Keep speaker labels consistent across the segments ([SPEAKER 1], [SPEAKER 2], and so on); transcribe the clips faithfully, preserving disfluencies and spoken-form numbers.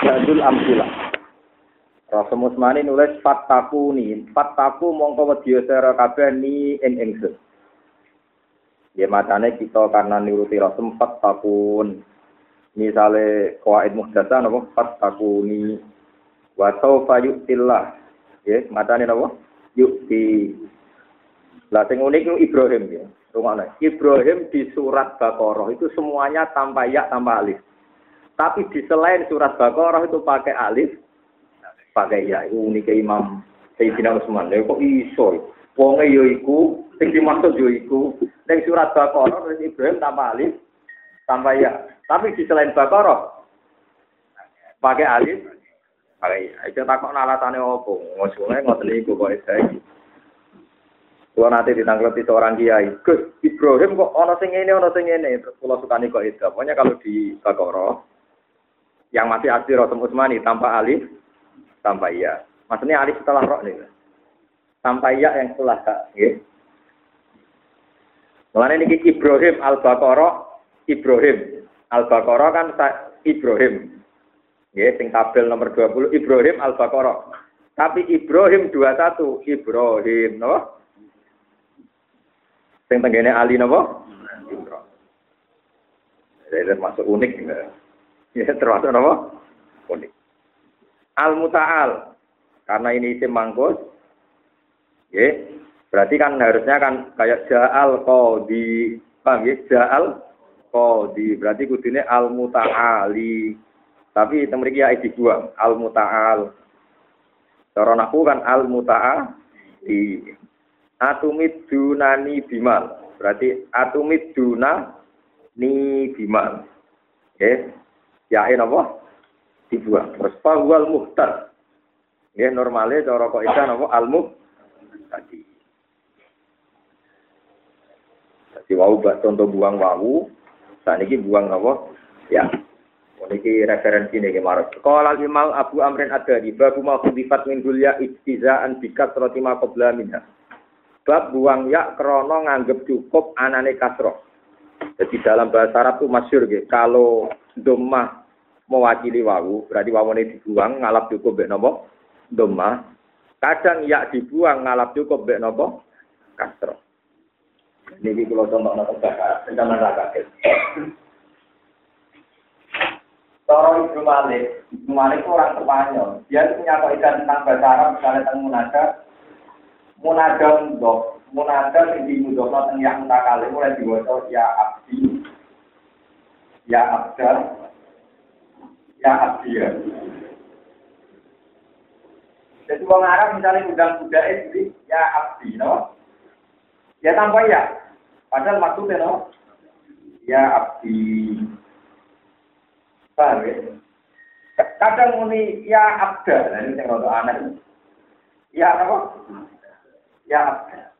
[SPEAKER 1] Jadul amsilah. Rasul Musmani nulis fattaku ni, fattaku mongko wedya sira kabeh ni ing ingsun. Ya macane kita karena nuruti Rasul fattakun. Misale qawaid muhdatsah napa fattakuni wa sawfa yu'tillah. Ya, macane napa? Yu'ti. Lah sing unik itu Ibrahim ya. Rungokne. Ibrahim di surat Baqarah itu semuanya tanpa ya tanpa alif. Tapi di selain surat Baqarah itu pakai alif, pakai ya. Itu unik Imam Sayyidina Utsman. Lha kok iso? Wonge ya iku, sing dimaksud ya iku. Ning surat Baqarah Ibrahim tanpa alif, tanpa ya. Tapi di selain Baqarah pakai alif, pakai ya. Itu takok alasane opo? Ngosone ngoten niku kok iki. Kalau nanti ditanggapi seorang kiai, Gus Ibrahim kok ono sing ngene ono sing ngene, terus kula sukani kok itu. Pokoknya kalau di Baqarah yang masih asli Rasul Utsmani tanpa alif, tanpa ya. Maksudnya alif setelah ro nih. Tanpa ya yang setelah ka, nggih. Mulane niki Ibrahim Al-Baqarah, Ibrahim Al-Baqarah kan Ibrahim. Nggih, sing tabel nomor dua puluh Ibrahim Al-Baqarah. Tapi Ibrahim dua puluh satu Ibrahim, no? Sing tenggene Ali napa? Imran. Jadi termasuk unik ya. Ya termasuk napa? Unik. Al-Muta'al. Karena ini isim mangkus. Ya, berarti kan harusnya kan kayak Ja'al Qadi. Paham ya? Ja'al Qadi. Berarti kudune Al-Muta'ali. Tapi temriki ya dibuang. Al-Muta'al. Cara nahwu kan Al-Muta'ali. Atumid dunani bimal. Berarti atumid dunani bimal. Oke. Yain apa? Dibuang. Terus fawal muhtar. Nggih normale cara kok isa napa almuh tadi. Dadi wau bak contoh buang wau. Saniki buang napa? Ya. Niki referensi niki marang. Qala Imam Abu Amrin Ad-Dari babu ma khudifat min dulya istizaan bikat roti ma qabla minha. Bab buang ya krono nganggep cukup anane kasroh. Jadi dalam bahasa Arab itu masyhur nggih, kalau dhammah mewakili wawu, berarti wawune dibuang ngalap cukup mek napa? Dhammah. Kadang ya dibuang ngalap cukup mek napa? Kasroh. Niki kula contohna bahasa rencana kaget. Toro Ibnu Malik, Ibnu Malik itu orang Spanyol. Dia punya kaidah tentang bahasa Arab, misalnya tentang munada. Munada mudhof, munada sing dimudhofna teng yang mutakale mulai diwaca ya abdi, ya abdal, ya abdiya. Jadi wong Arab misalnya undang budake jadi ya abdi, no? Ya tanpa ya. Padahal maksudnya no? Ya abdi. Paham ya? Kadang muni ya abdal, nah ini yang rada aneh. Ya apa? Ya abda.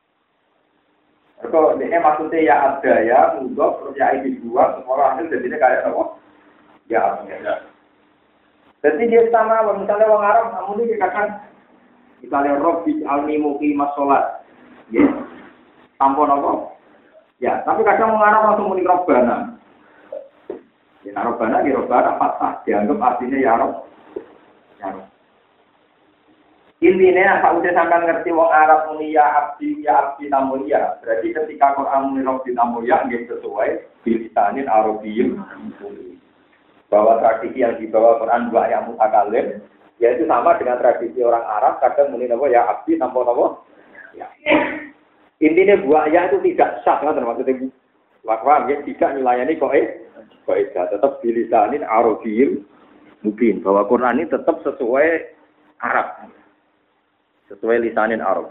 [SPEAKER 1] Kalau ini maksudnya ya abda ya, mudhof terus ya ini dua, semua hasil jadinya kayak apa? Ya abda. Jadi dia sama, misalnya orang Arab, namun ini dikatakan, misalnya Robbi alni muqimah sholat, ya, tampon apa? Ya, tapi kadang orang Arab langsung muni Robbana. Ya, Robbana, ya Robbana, fathah, dianggap artinya ya Rob, ya Rob. Intinya apa udah sampai ngerti wong Arab muni ya abdi ya abdi namun ya berarti ketika Quran muni robbi namun ya nggih sesuai bilisanin arabiyyun bahwa tradisi yang dibawa Quran dua yang mutakalim yaitu sama dengan tradisi orang Arab kadang muni napa ya abdi tanpa napa ya intinya buah ya itu tidak sah kan maksudnya wakwa ya tidak melayani kok eh kok tetap bilisanin arabiyyun mungkin bahwa Quran ini tetap sesuai Arab sesuai lisanin Arab.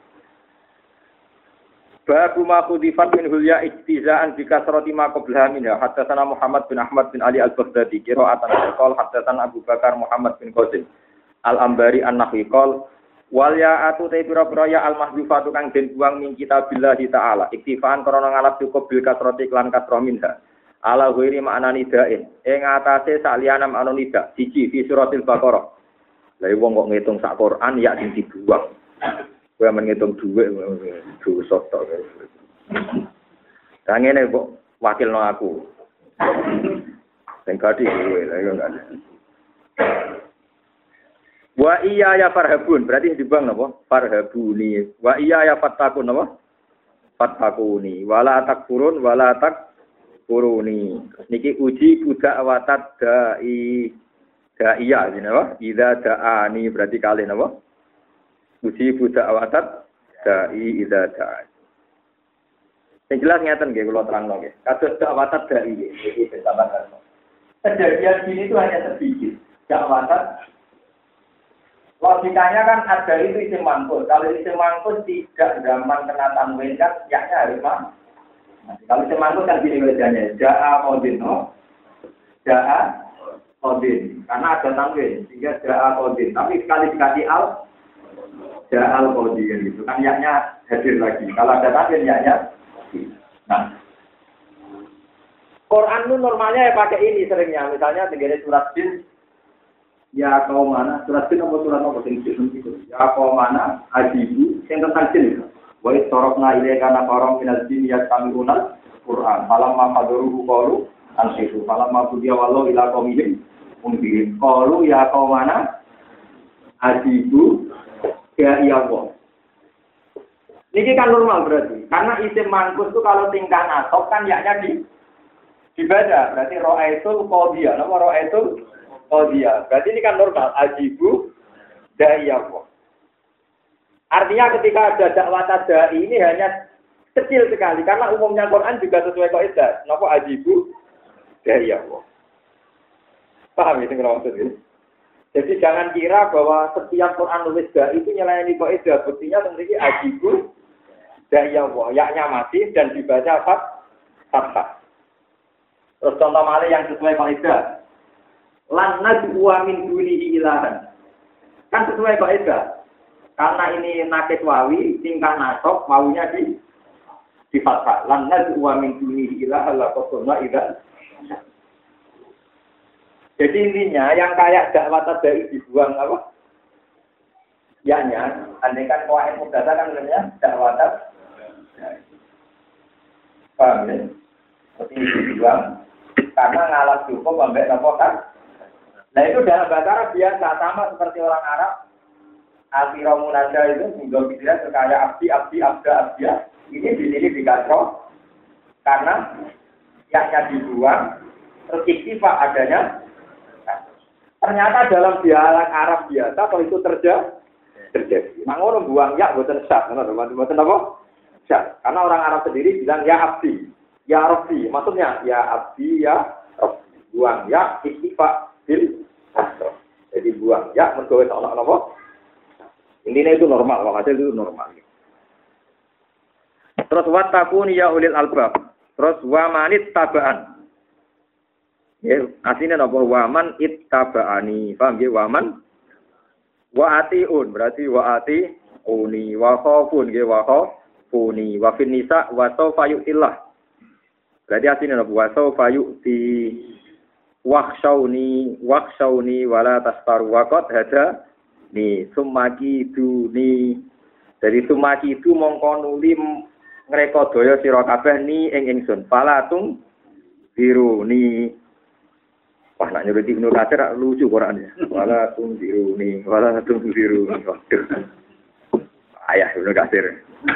[SPEAKER 1] Babu ma khudifat min hulya ijtizaan bi kasrati ma qablaha minha haddatsana Muhammad bin Ahmad bin Ali Al-Baghdadi qira'atan qol haddatsana Abu Bakar Muhammad bin Qasim Al-Ambari An-Nahwi qol wal ya'atu ta'bira ya al-mahdhufatu kang den buang min kitabillah ta'ala iktifaan krana ngalap cukup bil kasrati lan kasrah minha ala ghairi ma'na nidain ing atase saliyana ma'na nida siji fi suratil Baqarah. Lah wong kok ngitung sak Quran ya sing dibuang. Kowe men ngitung dhuwit dosa tok. Lah ngene kok wakilno aku. Sing gadi kowe lha yo enggak. Wa iya ya farhabun, berarti dibang napa? Farhabuni. Wa iya ya fattakun napa? Fattakuni. Wala takfurun wala takfuruni. Niki uji budak watat dai da'iya ini napa? Idza da'ani berarti kali napa? Uji budak watat dai idza da'a. Yang jelas ngeten nggih kula terangno nggih. Kados dakwatat dai iki bersama-sama. Kejadian ini itu hanya sedikit. Dakwatat logikanya kan ada itu isim mangkul. Kalau isim mangkul tidak zaman kena tanwin kan yaknya harus mah. Kalau isim mangkul kan gini wajahnya. Ja'a qodin no. Ja'a qodin. Karena ada tanwin sehingga ja'a qodin. Tapi sekali dikasih al ja'al qodin gitu kan yaknya hadir lagi. Kalau ada tanwin yaknya. Nah, Quran itu normalnya ya pakai ini seringnya. Misalnya begini surat Jin. Ya kau mana surat Jin apa surat apa sing Jin itu. Ya kau mana ajibu yang tentang Jin itu. Wa istarafna ilaika nafaram minal jin yastami'una Quran. Falamma qadaruhu qalu ansifu. Falamma qudiya wallahu ila qaumihim mundirin. Qalu ya kau mana ajibu ya iya Allah. Ini kan normal berarti. Karena isim mangkus itu kalau tingkah nasab kan yaknya di dibaca. Berarti ro'aitul qadiyah. Nama ro'aitul qadiyah. Berarti ini kan normal. Ajibu da'iyahu. Artinya ketika ada dakwah da'i ini hanya kecil sekali. Karena umumnya Quran juga sesuai kaidah. Nama ajibu da'iyahu. Paham ini kalau maksud ini? Jadi jangan kira bahwa setiap Quran nulis da'i itu nyelayani kaidah. Buktinya tentunya ajibu da'iyahu. Yaknya masih dan dibaca fathah. Terus contoh malih yang sesuai kaidah. Lan nad'u min dunihi ilahan. Kan sesuai kaidah. Karena ini nakis wawi, tingkah nasab, wawunya di di fathah. Lan nad'u min dunihi ilahan la qasna idza. Jadi intinya yang kayak dakwah tadai dibuang apa? Yaknya, andai kan qawaid mudzakkar kan namanya dakwah tadai. Paham ya? Seperti dibuang. Karena ngalah cukup sampai nopo kan. Nah itu dalam bahasa Arab biasa sama seperti orang Arab. Asiro munada itu juga bisa sekaya abdi, abdi, abda, abdia. Ini di sini dikasro karena yaknya dibuang, terus ikhtifah adanya. Ternyata dalam dialek Arab biasa kalau itu terjadi, terjadi. Mangono buang ya bukan sah, teman-teman. Bukan apa? Sah. Karena orang Arab sendiri bilang ya abdi. Ya Rabbi, maksudnya ya Abdi, ya Rabbi. Buang ya, ikhtifah bil asro. Jadi buang ya, mergowe seolah-olah apa? Intinya itu normal, wakasnya itu normal. Terus wattaquni ya ulil albab. Terus wamanit tabaan. Ya, aslinya apa? Waman ittaba'ani. Paham ya? Waman wa atiun, berarti wa atiuni, wa khafun, ya wa khafuni, wa fin nisa wa sawfa yu'tillah. Berarti aslinya apa? Wasau fayu di wakshauni wakshauni wala tasfaru wakot hada ni sumaki duni dari sumaki itu mongkonuli ngreka daya sira kabeh ni ing ingsun falatung biru ni wah nak nyuruh Ibnu Katsir lucu Qur'ane falatung biru ni falatung biru ni ayah Ibnu Katsir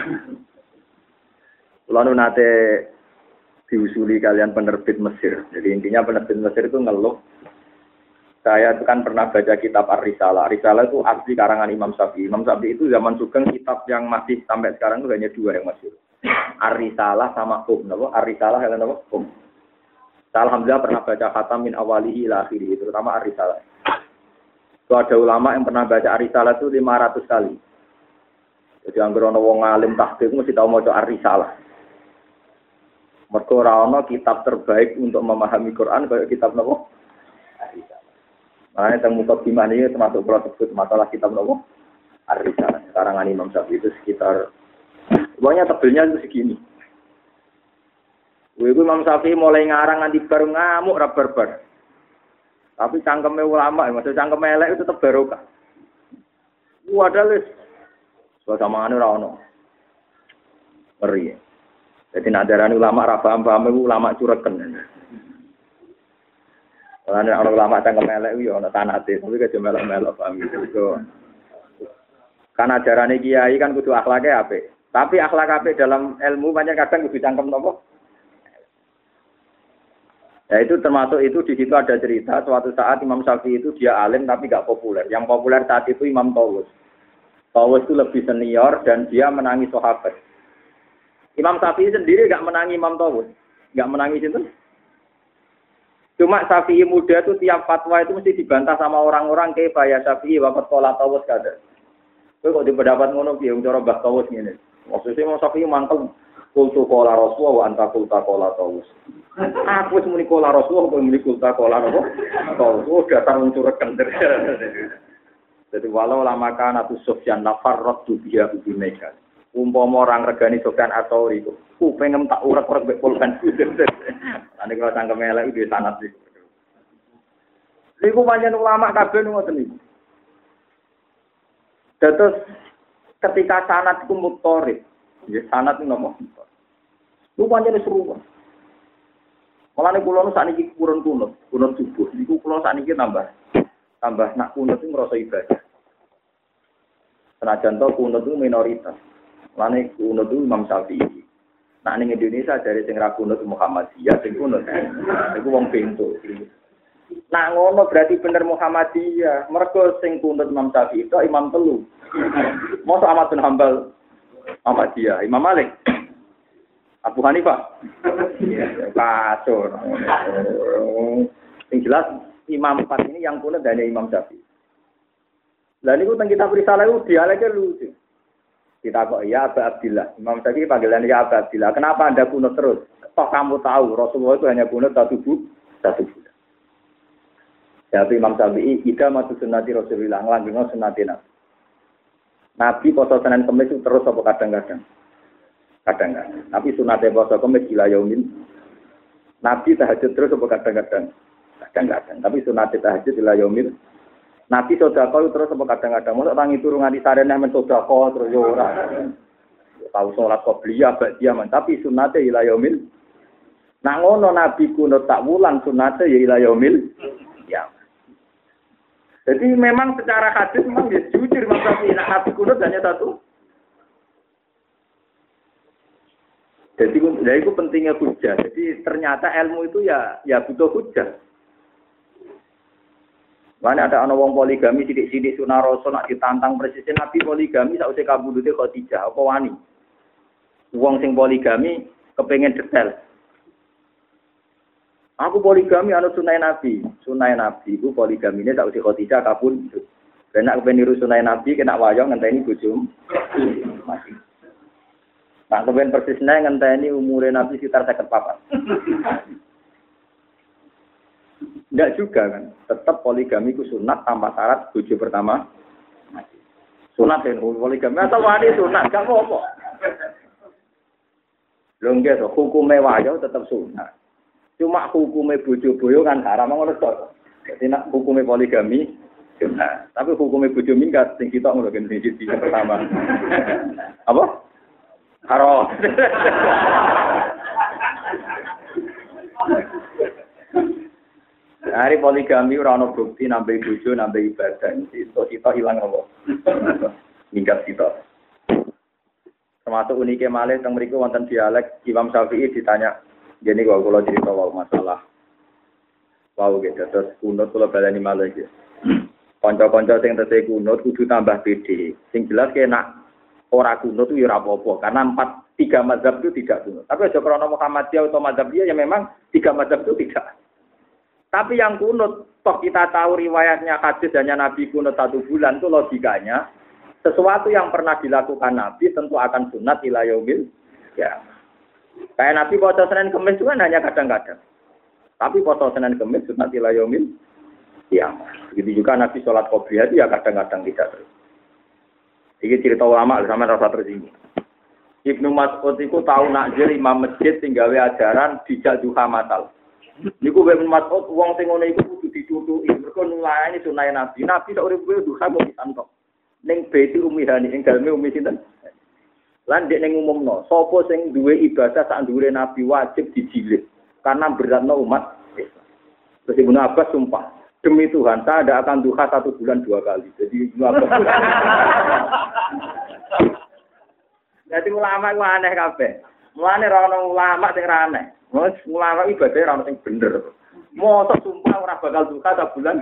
[SPEAKER 1] lalu nate diusuli kalian penerbit Mesir. Jadi intinya penerbit Mesir itu ngeluh. Saya itu kan pernah baca kitab Ar-Risalah. Ar-Risalah itu asli karangan Imam Syafi'i. Imam Syafi'i itu zaman Sugeng kitab yang masih sampai sekarang itu hanya dua yang masih. Ar-Risalah sama Qum. Ar-Risalah dan apa? Qum. Alhamdulillah pernah baca khatam min awalihi ila akhirih. Terutama Ar-Risalah. Itu ada ulama yang pernah baca Ar-Risalah itu lima ratus kali. Jadi anggere ana wong alim tahqiq mesti tau maca Ar-Risalah. Mergo ora ana kitab terbaik untuk memahami Quran kayak kitab napa? Ar-Risalah. Nah, teng mukadimah ini termasuk kalau sebut masalah kitab napa? Ar-Risalah. Karangan Imam Syafi'i itu sekitar pokoknya tebelnya itu segini. Kuwi Imam Syafi'i mulai ngarang nanti baru ngamuk ra barbar. Tapi cangkeme ulama, maksud cangkeme elek itu tetep barokah. Wadah wis. Suasamane ora ono. Ngeri. Jadi nak darani ulama ra paham-paham iku ulama cureken. Lan nek orang lama cangkem elek yo ana sanate, tapi kejo melok-melok paham gitu. Kan ajarane kiai kan kudu akhlake apik. Tapi akhlak apik dalam ilmu banyak kadang kudu cangkem nopo? Ya itu termasuk itu di situ ada cerita suatu saat Imam Syafi'i itu dia alim tapi gak populer. Yang populer saat itu Imam Tawus. Tawus itu lebih senior dan dia menangi sahabat. Imam Syafi'i sendiri gak menangi Imam Tawus. Gak menangi itu. Cuma Syafi'i muda itu tiap fatwa itu mesti dibantah sama orang-orang kayak ya Syafi'i wakat kola Tawus kada. Itu kok dipendapat ngono ki cara Mbah Tawus ngene. Maksudnya Imam Syafi'i mangkel kultu kola Rasulullah wa anta kulta kola Tawus. Aku wis muni kola Rasulullah kok muni kulta kola apa? Tawus oh dasar unsur kender. Jadi walau lama kana tu Sufyan nafarrat tu biha ubineka. Umpama orang regani Sufyan atau iku, ku pengen tak urek-urek mek pulpen. Ane kalau cangkem elek iki sanad iki. Iku pancen ulama kabeh ngoten niku. Terus ketika sanad iku mutorib, ya sanad niku nopo? Lu pancen seru. Mulane kula nu sakniki kurun kunut, kunut subuh. Niku kula sakniki tambah tambah nak kunut itu ngrasa ibadah. Senajan to kunut itu minoritas. Mulane kunut itu Imam Syafi'i. Nah ning Indonesia dari sing ra kunut Muhammadiyah sing kunut. Iku wong pintu. Nah ngono berarti bener Muhammadiyah. Mergo sing kunut Imam Syafi'i itu imam telu. Mosok Ahmad bin Hambal Muhammadiyah, Imam Malik Abu Hanifah. Kacau. Yang jelas Imam empat ini yang kunut dari Imam Syafi'i. Lah niku teng kitab Risalah itu dialeke lucu. Kita kok ya Abu Abdillah. Imam Syafi'i panggilan ya Abu Abdillah. Kenapa Anda kunut terus? Toh kamu tahu Rasulullah itu hanya kunut satu bulan, satu bulan. Jadi Imam Syafi'i ida matu sunnati Rasulullah nglanggengo sunnati Nabi. Nabi poso Senin Kamis itu terus apa kadang-kadang? Kadang-kadang. Tapi sunate poso Kamis ila yaumin. Nabi tahajud terus apa kadang-kadang? Kadang-kadang. Tapi sunate tahajud ila yaumin. Nabi sedekah terus apa kadang-kadang? Mosok tangi turu nganti sarene men sedekah terus yo ora. Tahu salat qobliyah ba'diyah men tapi sunate ila yaumin. Nak ngono Nabi kuno tak wulan sunate ya ila yaumil ya. Jadi memang secara hadis memang dia jujur Nabi nak Nabi kuno hanya satu. Jadi ya itu pentingnya hujah. Jadi ternyata ilmu itu ya ya butuh hujah. Mana ada anak wong poligami sidik-sidik sunah rasul nak ditantang presiden Nabi poligami sausé kabudute Khadijah apa wani. Wong sing poligami kepengen detail. Aku poligami anut sunai Nabi. Sunai Nabi itu poligamine tak usah Khadijah kabun. Karena aku niru sunai Nabi kena wayang ngenteni bojomu. Mati. Nak kepen persisnya ngenteni umure Nabi sekitar lima puluh empat. Enggak juga kan. Tetap poligami ku sunat tanpa syarat bojo pertama mati. Sunat dan poligami atau wani sunat gak apa-apa. Lho nggih to hukume wayang tetap sunat. Cuma hukumnya bojo boyo kan haram ngono to. Jadi nak hukumnya poligami nah, tapi hukumnya bojo minggat sing kita ngono kan sing pertama. Apa? Haram. Hari poligami ora ono bukti nambah bojo nambah ibadah itu kita hilang apa? Minggat kita. Termasuk uniknya malih teng mriku wonten dialek Imam Syafi'i ditanya jadi kalau kalau cerita wow masalah, wow gitu terus kunut kalau balani malah gitu. Konco-konco yang terus kunut kudu tambah pede. Sing jelas kena ora kunut itu ya apa-apa karena empat tiga mazhab itu tidak kunut. Tapi aja karena Muhammadiyah atau mazhab dia ya memang tiga mazhab itu tidak. Tapi yang kunut, toh kita tahu riwayatnya hadis hanya Nabi kunut satu bulan itu logikanya sesuatu yang pernah dilakukan Nabi tentu akan sunat ila yaumil ya. Kayak Nabi puasa Senin Kamis itu kan hanya kadang-kadang. Tapi puasa Senin Kamis sunat ila yaumil qiyamah. Begitu juga Nabi sholat qobliyah itu ya kadang-kadang tidak terus. Ini cerita ulama sama rasa tersinggung. Ibnu Mas'ud itu tahu nakjil imam masjid tinggal ajaran dijak duha matal. Niku Ibnu Mas'ud wong sing ngono iku kudu ditutuki. Mergo nulayani sunah Nabi. Nabi sak urip-uripe duha kok disantok. Ning beti umihani ing daleme umi sinten? Lan dek ning umumno, sapa sing duwe ibadah sak dhuwure Nabi wajib dijilid karena beratno umat Islam. Terus Ibnu Abbas sumpah, demi Tuhan saya tidak akan duha satu bulan dua kali. Jadi Ibnu Abbas. Jadi ulama itu aneh kabeh. Mulane ra ono ulama sing ra aneh. Wes ulama ibadah ra ono sing bener. Mosok sumpah ora bakal duha satu bulan.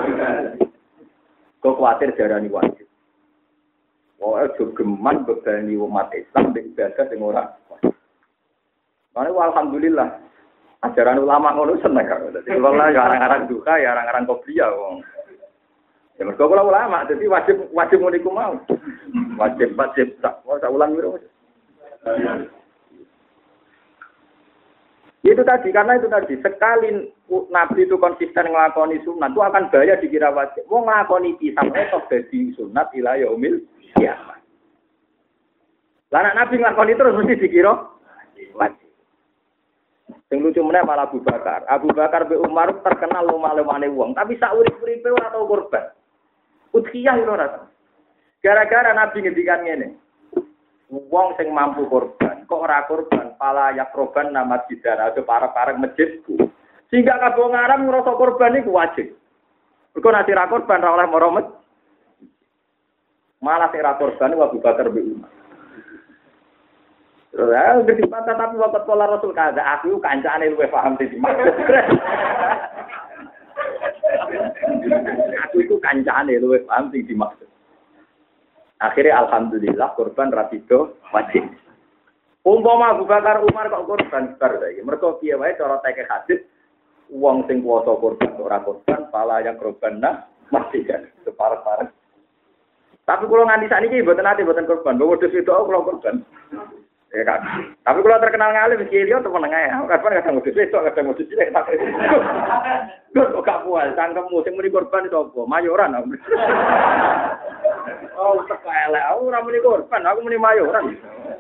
[SPEAKER 1] Kok kuwatir jarani wajib. Oh, itu geman bebani umat Islam di ibadah sing ora. Mane alhamdulillah. Ajaran ulama ngono seneng kok. Dadi kula lah ya arang-arang duka ya arang-arang kopiah wong. Ya mergo kula ulama dadi wajib wajib ngono iku mau. Wajib wajib tak sak ulang wiro. Itu tadi karena itu tadi sekali Nabi itu konsisten nglakoni sunat itu akan bahaya dikira wajib. Wong nglakoni pisang itu dadi sunat ila yaumil kiamat. Lah nek Nabi nglakoni terus mesti dikira wajib. Sing lucu meneh malah Abu Bakar. Abu Bakar be Umar terkenal lumah-lumane wong, tapi sak urip-uripe ora tau korban. Udhiyah lho ora. Gara-gara Nabi ngendikan ngene. Wong sing mampu korban, kok ora korban, pala yak korban nama bidara aja parek-parek masjidku. Sehingga kabeh ngaram ngrasa korban iku wajib. Mergo nek ora korban ora oleh maro masjid. Malah sing ora korban Abu Bakar be Umar. Terus ya ngerti patah tapi waktu pola Rasul kada aku kancane luwih paham sing dimaksud. Aku itu kancane luwih paham sing dimaksud. Akhirnya alhamdulillah korban rapido wajib. Umpama Abu Bakar Umar kok korban bar saiki. Mergo piye wae cara teke hadis wong sing kuwasa korban ora korban pala yang korbanna mesti kan separah-parah. Tapi kalau nganti sakniki mboten ate mboten korban. Lho wedhus itu kula korban. Ya kan. Tapi kalau terkenal ngalim iki dia temen ae. Kapan kadang wedhus itu kadang wedhus cilik tak. Kok gak puas cangkemmu sing muni korban itu apa? Mayoran. Oh, teka elek. Aku ora muni korban, aku muni mayoran.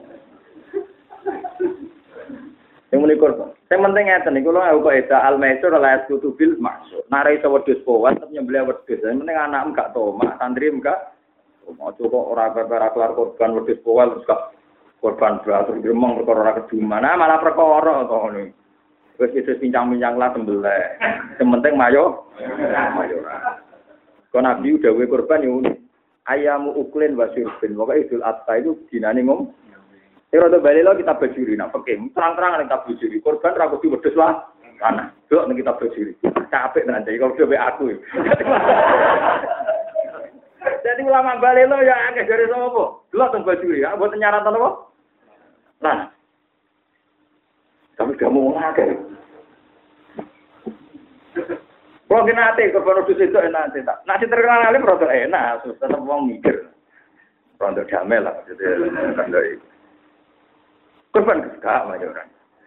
[SPEAKER 1] Sing muni korban. Sing penting ngeten iki kula kok eda al-maisur la kutubil maksud. Nare iso wedhus powan tapi nyembelih wedhus. Sing penting anak enggak tomak, santri enggak. Mau coba ora ora kelar korban wedhus powan terus gak korban beratur gremeng perkara ora kedumana malah perkara to ngono. Wis wis pincang-pincang lah sembelih. Sing penting mayo mayoran. Kok Nabi dawuhe korban yo ayamu uklin wasyurbin. Pokoke Idul Adha itu dinane ngom. Ora to bali lo kita bajuri nak peke. Terang-terang nek kita bajuri. Korban ra kudu wedhus lah. Ana. Delok nek kita bajuri. Capek tenan iki kok dhewe aku. Jadi ulama bali lo ya akeh jare sapa? Delok teng bajuri. Ya mboten nyaratan apa? Nah. Kami kamu ngakeh. Kalau kita nanti korban wedhus itu enak tak. Nasi terkenal alim rada enak, tetap wong mikir. Rada damai lah jadi kan dari korban gak mayoran.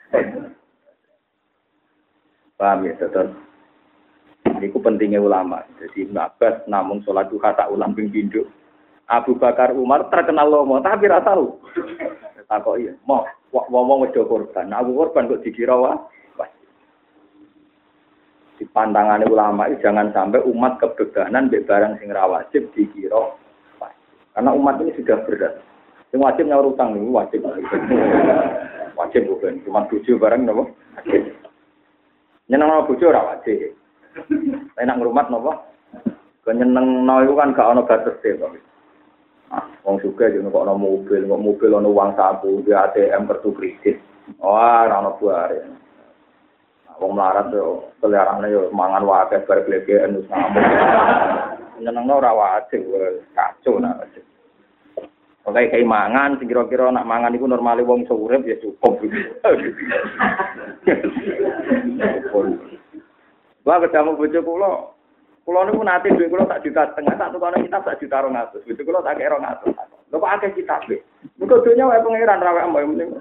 [SPEAKER 1] Paham ya, teman. Ini ku pentingnya ulama. Jadi Ibnu Abbas namung sholat duha tak ulang ping pindho. Abu Bakar Umar terkenal lomo tapi ra tahu. Tak kok iya, mau wong wedo korban. Nah, Abu korban kok dikira wah. Di pandangan ulama itu jangan sampai umat kebebanan mbek barang sing ra wajib dikira wajib. Karena umat ini sudah berat. Sing wajib nyaur utang niku wajib. Wajib bukan cuma bojo barang napa? Wajib. Nyenengno bojo ora wajib. Enak ngrumat napa? Kenyenengno iku kan gak ana batese kok. Ah, wong sugih yo kok ana mobil, kok mobil ana uang saku, di A T M kartu kredit. Wah, ora ana buare. Wong melarat yo selerane yo mangan wae bar glegen wis ngamuk. Nyenengno ora wajib kacau nak. Pokoke kayak mangan sing kira-kira nak mangan iku normale wong iso urip ya cukup. Wah ketemu bojo kula. Kula niku nate dhuwit kula sak juta setengah, sak tukane kitab sak juta rong atus. Bojo kula tak kira rong atus. Lho kok akeh kitab e. Muga donya wae pangeran ra wae mbok muni.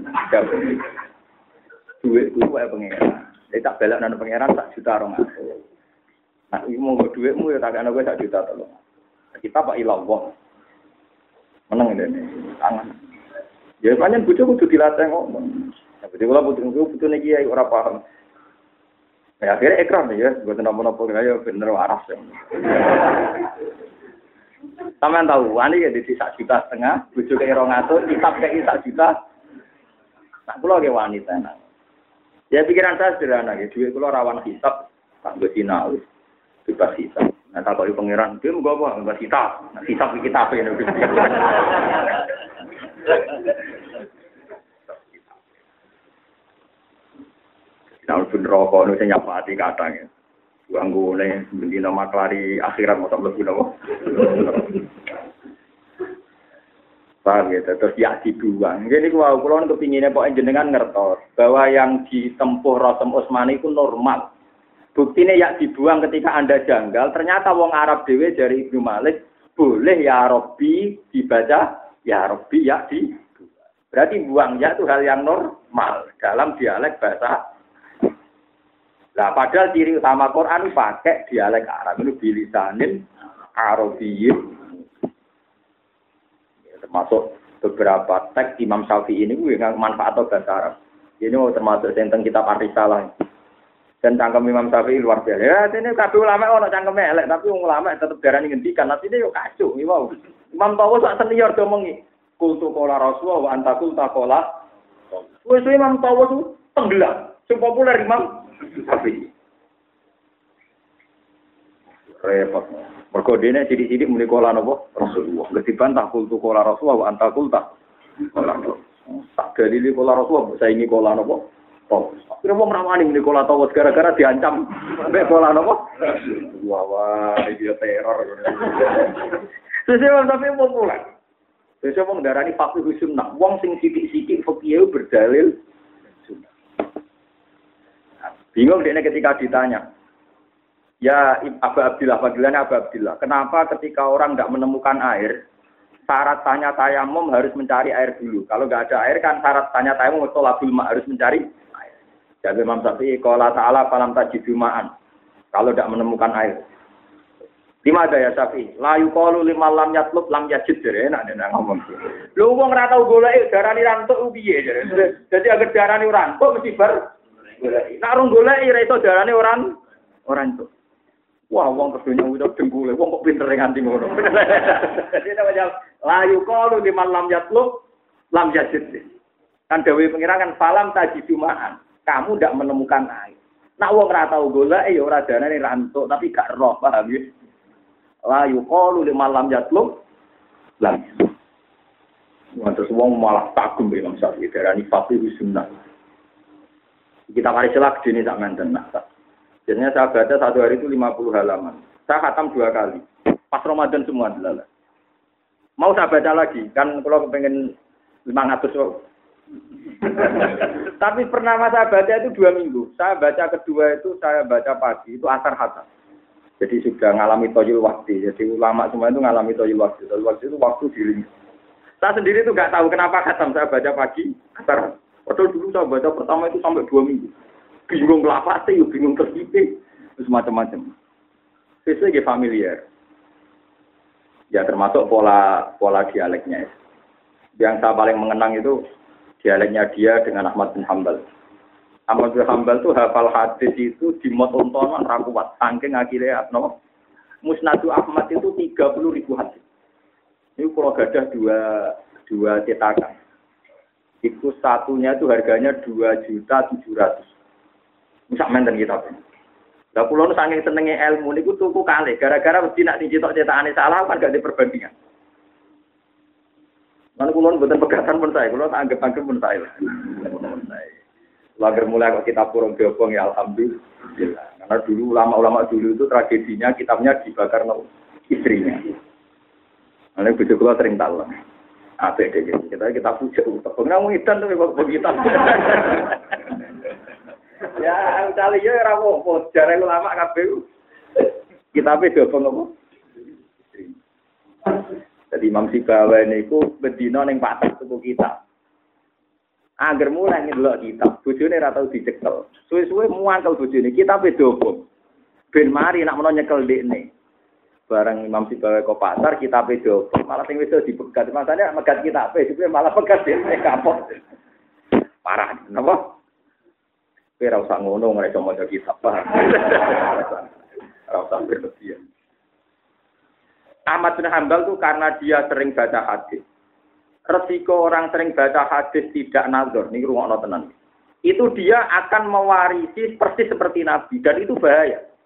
[SPEAKER 1] Dhuwit kuwi wae pangeran. Saya tak belak nang pangeran sak juta rong atus. Nah, iki monggo dhuwitmu ya tak ana kowe sak juta tolong. Kita Pak Ilawah. Meneng ngene. Tangan. Ya pancen bojo kudu dilatih ngomong. Ya bojo kula butuh butuh niki ora paham. Ya akhirnya ekran ya, mboten napa-napa kaya bener waras ya. Sampeyan tahu, wani ya di sak juta setengah, bojo kaya rong atus, kitab kaya sak juta. Nah, kula ge wanita nang. Ya pikiran saya sederhana ya, duit kula rawan hisab, tak gue sinau bebas hisab. Nah tak kali pangeran dia mau apa bebas hisab. Nah hisab kita apa ini? Nah pun rokok nu saya nyapa hati kadang ya. Ganggu nih beli nama kelari akhirat mau tak lebih nama. Paham ya, terus ya dibuang. Jadi kalau kulon kepinginnya pokoknya jenengan ngertos bahwa yang ditempuh Rasul Utsmani itu normal. Buktinya ya dibuang ketika Anda janggal. Ternyata wong Arab dewe dari Ibnu Malik boleh ya Robbi dibaca ya Robbi ya dibuang. Berarti buang ya itu hal yang normal dalam dialek bahasa. Nah padahal ciri utama Quran pakai dialek Arab itu bilisanin Arabiyyin. Termasuk beberapa teks Imam Syafi'i ini gue nggak manfaat atau bahasa Arab. Ini termasuk tentang kitab Ar-Risalah. Dan cangkem Imam Syafi'i luar biasa. Ya, ini kabeh ulama ono cangkeme elek, tapi wong ulama tetep darani ngendikan. Nanti dia yo kacau, wow. Imam Tawas sak senior do mengi. Kultu qala Rasulullah wa anta qulta qala. Wis Imam Tawas itu tenggelam. Sing populer Imam Syafi'i. Repot. Mergo dene sithik-sithik muni kala napa Rasulullah. Ketibantah kultu kala Rasulullah wa anta qulta. Kala. Tak dalile kala Rasulullah saingi kala napa? Oh. Kira wong rawani muni kala tawas gara-gara diancam mek kala napa? Wah wah dia teror. Sesuk sampe populer. Sesuk wong darani fakih sunnah. Wong sing sithik-sithik fikih berdalil sunnah. Bingung dene ketika ditanya. Ya Abu Abdillah, panggilannya Abu Abdillah. Kenapa ketika orang tidak menemukan air, syarat tanya tayamum harus mencari air dulu. Kalau nggak ada air kan syarat tanya tayamum tolabul ma harus mencari air. Jadi Imam Syafi'i qala ta'ala falam tajidu ma'an. Kalau tidak menemukan air. Lima ada ya Syafi'i. La yuqalu liman lam yatlub lam yajid. Enak nek ngomong. Lho wong ora tau golek darani rantuk piye jare. Dadi agar darani rantuk mesti bar golek. Nek ora golek ora iso darani orang orang itu. Wah, wong kedunya udah dengkule, wong kok pinter nganti ngono. Jadi namanya layu qalu liman lam yatlub lam yajid. Kan dawuh pengirangan falam tajidumaan. Kamu ndak menemukan air. Nak wong ora tau golek ya ora darane rantuk, tapi gak roh, paham ya? Layu qalu liman lam yatlub lam yajid. Terus wong malah kagum Imam Syafi'i darani faqih sunnah. Kita mari celak dene sak menten nak. Jadinya saya baca satu hari itu lima puluh halaman. Saya khatam dua kali. Pas Ramadan semua adalah. Mau saya baca lagi. Kan kalau pengen lima ratus. Tapi pernah saya baca itu dua minggu. Saya baca kedua itu saya baca pagi. Itu asar khatam. Jadi sudah ngalami toyul waktu. Jadi ulama semua itu ngalami toyul waktu. Toyul waktu itu waktu diri. Saya sendiri itu nggak tahu kenapa khatam. Saya baca pagi. Asar. Padahal dulu saya baca pertama itu sampai dua minggu. Bingung lapate, yo bingung tersipe, terus macam-macam. Sesuai familiar. Ya termasuk pola pola dialeknya. Yang saya paling mengenang itu dialeknya dia dengan Ahmad bin Hanbal. Ahmad bin Hanbal itu hafal hadis itu di motontonan rakuat. Saking akhirnya no, Musnadu Ahmad itu tiga puluh ribu hadis. Ini kalau gadah dua dua cetakan. Itu satunya itu harganya dua juta tujuh ratus. Sak menten kita. Lah kula nu saking senenge ilmu niku tuku kalih gara-gara mesti nak dicetok cetakane salah kan gak diperbandingan. Lan kula mboten pegatan pun saya, kula tak anggap-anggap pun saya. Lager mulai kok kitab Purung Diobong ya alhamdulillah. Karena dulu ulama-ulama dulu itu tragedinya kitabnya dibakar no istrinya. Ana bojo kula sering talon. Apik deh kita kita puja utang. Nang ngidan to kok begitu. Ya, kali ya ora apa-apa, jare ulama kabeh. Kitabe dobong apa? Jadi Imam Sibawa niku bedina ning pasar tuku kitab. Angger mulai ndelok kitab, bojone ora tau dicekel. Suwe-suwe muangkel bojone, kitabe dobong. Ben mari nak menawa nyekel ndekne. Bareng Imam Sibawa kok pasar kitabe dobong, malah sing wis dipegat. Masane megat kitabe, dhewe malah pegat dhewe kapok. Parah, napa? Ora usah ngono ora iso maca kitab. Ora usah berlebihan. Ahmad bin Hanbal itu karena dia sering baca hadis. Resiko orang sering baca hadis tidak nazar, niki rungokno tenan. Itu dia akan mewarisi persis seperti Nabi dan itu bahaya.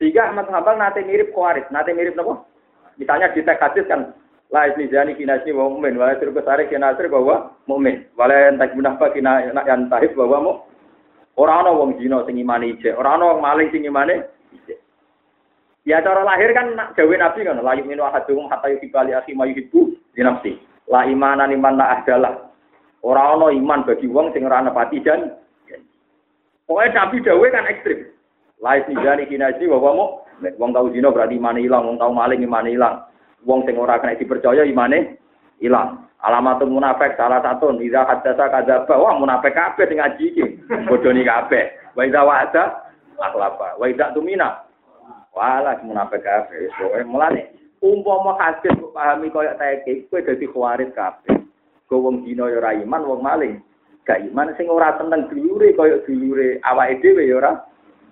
[SPEAKER 1] Sehingga Ahmad Hambal nate mirip Khawarij, nate mirip napa? Misalnya di teks hadis kan la isnizani kinasni wa mu'min, wa sirku tarik kinasri bahwa mu'min. Wala entak munafaq kina yang tahib bahwa mu ora ana wong zina sing imane ijek, ora ana wong maling sing imane ijek. Ya cara lahir kan dawuh Nabi kan la yu'minu ahadukum hatta yuhibbu akhi ma yuhibbu li nafsi. La imana liman la ahdalah. Ora ana iman bagi wong sing ora nepati jan. Pokoke Nabi dawuh kan ekstrim. La isnizani kinasni bahwa mu wong tau zina berarti imane ilang, wong tau maling imane ilang. Wong sing ora kena dipercaya imane ilang. Alamatul munafik salah satu idza hadatsa kadzaba. Wah munafik kabeh sing ngaji iki. Bodoni kabeh. Wa idza wa'ada akhlafa. Wa idza tumina. Walah munafik kabeh. Pokoke mulane umpama hadis kok pahami koyo teke kowe dadi khawarij kabeh. Go wong zina ya ora iman, wong maling gak iman sing ora tenang dulure koyo dulure awake dhewe ya ora.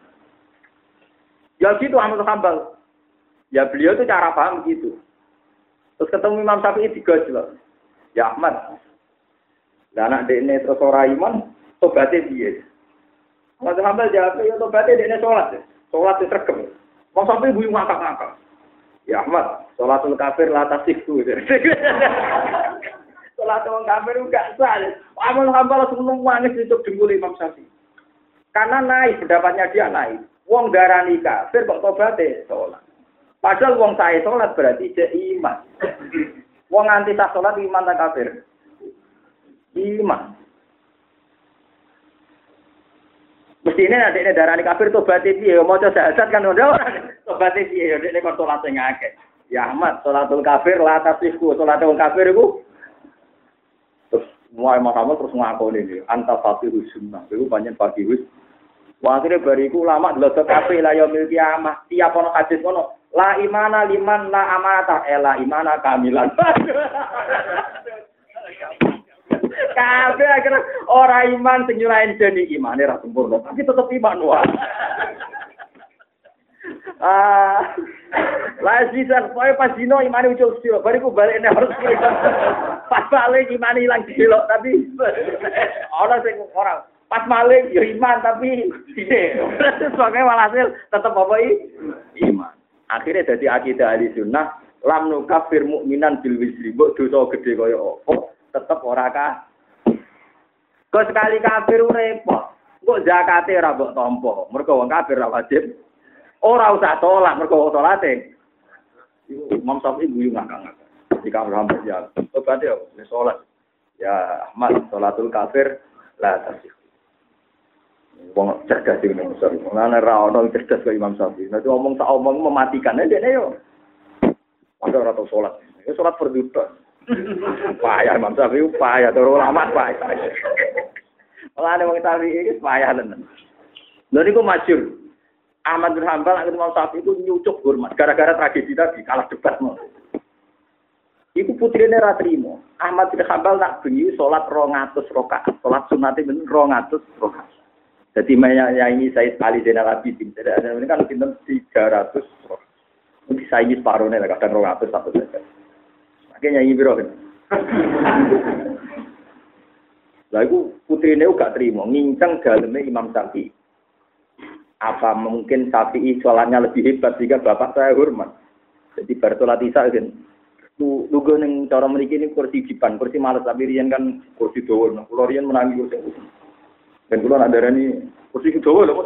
[SPEAKER 1] Ya gitu Ahmad Hambal. Ya beliau itu cara paham gitu. Terus ketemu Imam Syafi'i digojlok. Ya Ahmad. Lah anak dekne terus ora iman, tobaté piye? Ahmad Hambal jawab, ya tobaté dekne salat. Salat wis regem. Wong Syafi'i guyu ngakak-ngakak. Ya Ahmad, salatul kafir la tasihku. Salat wong kafir enggak sah. Ahmad Hambal langsung nangis untuk dengkul Imam Syafi'i. Karena naik pendapatnya dia naik. Wong darani kafir kok tobaté salat. Padahal wong sae salat berarti jek iman. Wong anti sah salat iman ta kafir? Iman. Mestine nek nek darani kafir tobaté piye? Maca syahadat kan ora tobaté piye? Nek kok salat sing akeh. Ya Ahmad, salatul kafir la tasihku. Salat wong kafir iku terus mulai Muhammad terus ngakoni iki anta faqihus sunnah. Iku pancen faqihus. Wah, akhirnya bariku lama delok kabeh la yaumil kiamah. Tiap ono hadis ngono, la imana liman la amata, eh la imana kamilan. Kabeh akhirnya ora iman sing nyurain jeni imane ra sempurna, tapi tetep iman wae. Ah, la sisan pokoke pas dino imane ucul sira, bariku balik nek harus pas balik imane ilang delok tapi ora sing ora pas maling ya iman tapi piye. Sebagai walhasil tetap apa iman. Akhirnya jadi akidah ahli sunnah lam nukafir mukminan bil wisri. Mbok dosa gede kaya apa tetep ora kah. Kok sekali kafir repot. Kok zakate ora mbok tampa. Mergo wong kafir ora wajib. Ora usah salat mergo salate. Imam Syafi'i guyu ngakak-ngakak. Jika Muhammad ya, obat ya salat. Ya Ahmad salatul kafir la tasih. Wong cerdas iki Imam Syafi'i. Ana ra ono cerdas kaya Imam Syafi'i. Nek ngomong sak omong mematikan dene yo. Ora ora tau salat. Ya salat perduta. Payah Imam Syafi'i payah turu ulama payah. Mulane wong Syafi'i iki payah tenan. Lha niku masyhur. Ahmad bin Hambal nek Imam Syafi'i itu nyucuk hormat gara-gara tragedi tadi kalah debat mau. Iku putrine ra trimo. Ahmad bin Hambal nak bengi salat rong atus rakaat. Salat sunate men rong atus rakaat. Jadi mainnya ini Said Ali Zainal Abidin. Jadi ada ini kan pinter tiga ratus. Mungkin saya ini separuhnya lah, kadang dua ratus satu saja. Makanya nyanyi biro kan. Lalu putri ini juga terima, ngincang dalamnya Imam Syafi'i. Apa mungkin Syafi'i sholatnya lebih hebat sehingga bapak saya hormat. Jadi bersolat isya kan. Lugu neng cara mereka ini kursi jipan, kursi malas tapi rian kan kursi doa. Nah, kalau rian menangi kursi. Dan kalau ada ini kursi Jawa lho, Mas.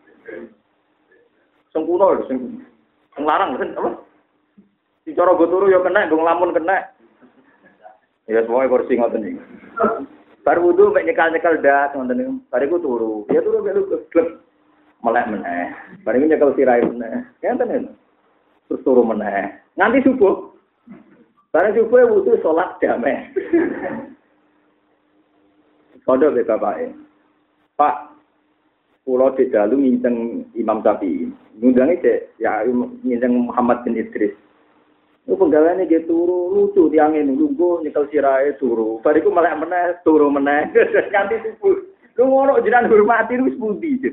[SPEAKER 1] Sempurna lho, sing larang kan apa? Di cara go turu ya kena, go nglamun kena. Ya semua kursi ngoten iki. Bar wudu mek nyekal-nyekal dak ngoten niku. Bariku turu. Ya turu mek lu klep melek meneh. Bariku nyekel sirahe meneh. Ngenten lho. Terus turu meneh. Nganti subuh. Bareng subuh wudu salat damai. Kodho be bapake. Pak, pulau di dalu nginceng Imam Syafi'i. Ngundangnya cek, ya nginceng Muhammad bin Idris. Itu penggawaannya dia turu, lucu tiangin, nunggu, nyekel sirai, turu. Bariku malah meneh, turu meneh. Ganti subuh. Lu ngono jiran hormati, lu sebudi.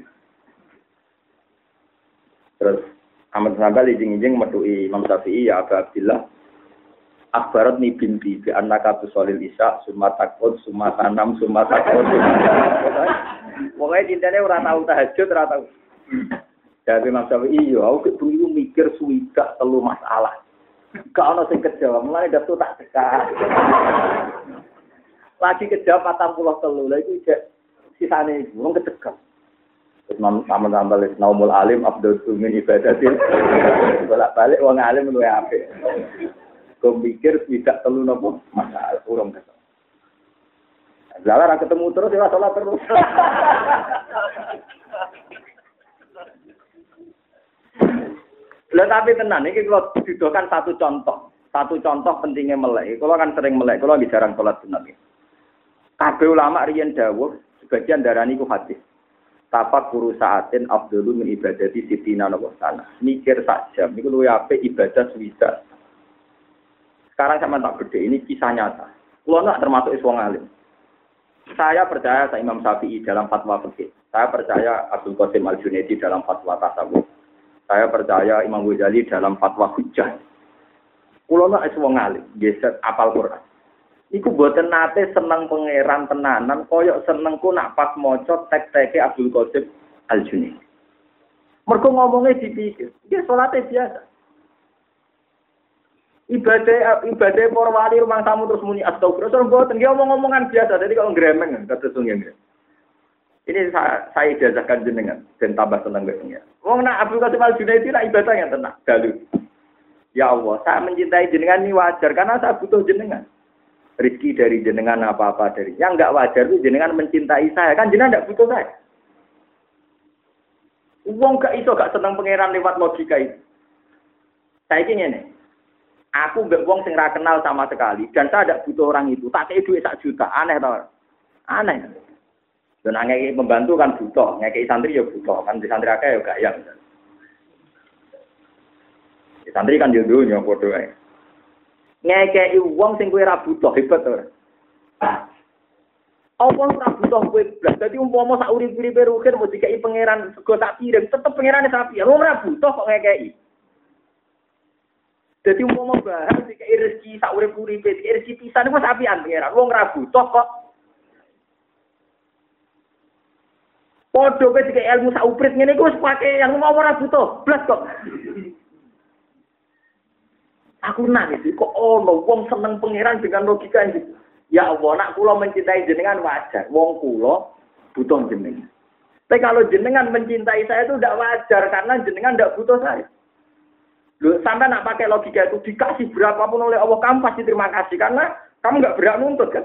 [SPEAKER 1] Terus, Ahmad bin Hambal izin-izin metu'i Imam Syafi'i, ya Abu Abdillah. Akbarat ni binti bi annaka tusolil isya summa takut summa tanam summa takut. Pokoke cintane ora tau tahajud ora tau. Jadi Imam Syafi'i, iya, aku dulu mikir suwidak telu masalah. Gak ono sing kejawab, mulane daftar tak dekat. Lagi kejawab patang puluh telu, lha iku jek sisane iku wong kecegah. Terus namun tambah naumul alim abdul min ibadatin. Bolak-balik wong alim luwe apik. Kok mikir suwidak telu napa masalah urung kesel. Lah ora ketemu terus ya salat terus. Lah tapi tenan iki kalau didokan satu contoh, satu contoh pentingnya melek. Kalau kan sering melek, kalau lagi jarang salat sunat. Kabeh ulama riyen dawuh, sebagian darani ku hadis. Tapak guru saatin afdhalu min ibadati sitina wa sana. Mikir sak jam niku luwih apik ibadah swida. Sekarang sama tak gede, ini kisah nyata. Kulo nak termasuk wong alim. Saya percaya sama Imam Syafi'i dalam fatwa fikih. Saya percaya Abdul Qasim Al-Junaidi dalam fatwa tasawuf. Saya percaya Imam Ghazali dalam fatwa hujjah. Kulo nak wong alim, geset apal Quran. Iku boten nate seneng pangeran tenanan, koyok senengku nak pas maca tek-teke Abdul Qasim Al-Junaidi. Mergo ngomongnya dipikir, dia salate biasa. Ibadah ibadah para wali rumah tamu terus muni astagfirullah, terus mboten dia omong-omongan biasa, jadi kalau gremeng kata sungguh. Ini saya, saya ijazahkan jenengan dan tambah senang besoknya. Wong nak Abdul Qasim Al-Junaidi nak ibadah yang tenang, dalu. Ya Allah, saya mencintai jenengan ini wajar karena saya butuh jenengan. Rezeki dari jenengan apa-apa dari. Yang enggak wajar itu jenengan mencintai saya, kan jenengan enggak butuh saya. Wong gak iso gak seneng pangeran lewat logika itu. Saya ingin ngene. Aku mbek wong sing ra kenal sama sekali dan saya tidak butuh orang itu. Tak kei duit sak juta, aneh to. Aneh. Dan ngekei pembantu kan butuh, ngekei santri ya butuh, kan di santri akeh ya gak yang. Di santri kan yo dunya padha ae. Ngekei wong sing kowe ra butuh hebat to. Apa ora butuh kowe blas. Dadi umpama sak urip-uripe rugen mau dikei pangeran sego tak kirim, tetep pangerane sapi. Wong ora butuh kok ngekei. Dadi umpama bahas dikei rezeki sak urip-uripe, dikei rezeki pisan iku sapian pangeran. Wong ora butuh kok. Podo kowe dikei ilmu sak uprit ngene iku wis pake yang mau ora butuh, blas kok. Aku nangis kok ono wong seneng pangeran dengan logika iki. Ya Allah, nak kula mencintai jenengan wajar. Wong kula butuh jenengan. Tapi kalau jenengan mencintai saya itu tidak wajar karena jenengan tidak butuh saya. Loh, sampai nak pakai logika itu dikasih berapapun oleh Allah kamu pasti terima kasih karena kamu nggak berhak nuntut kan.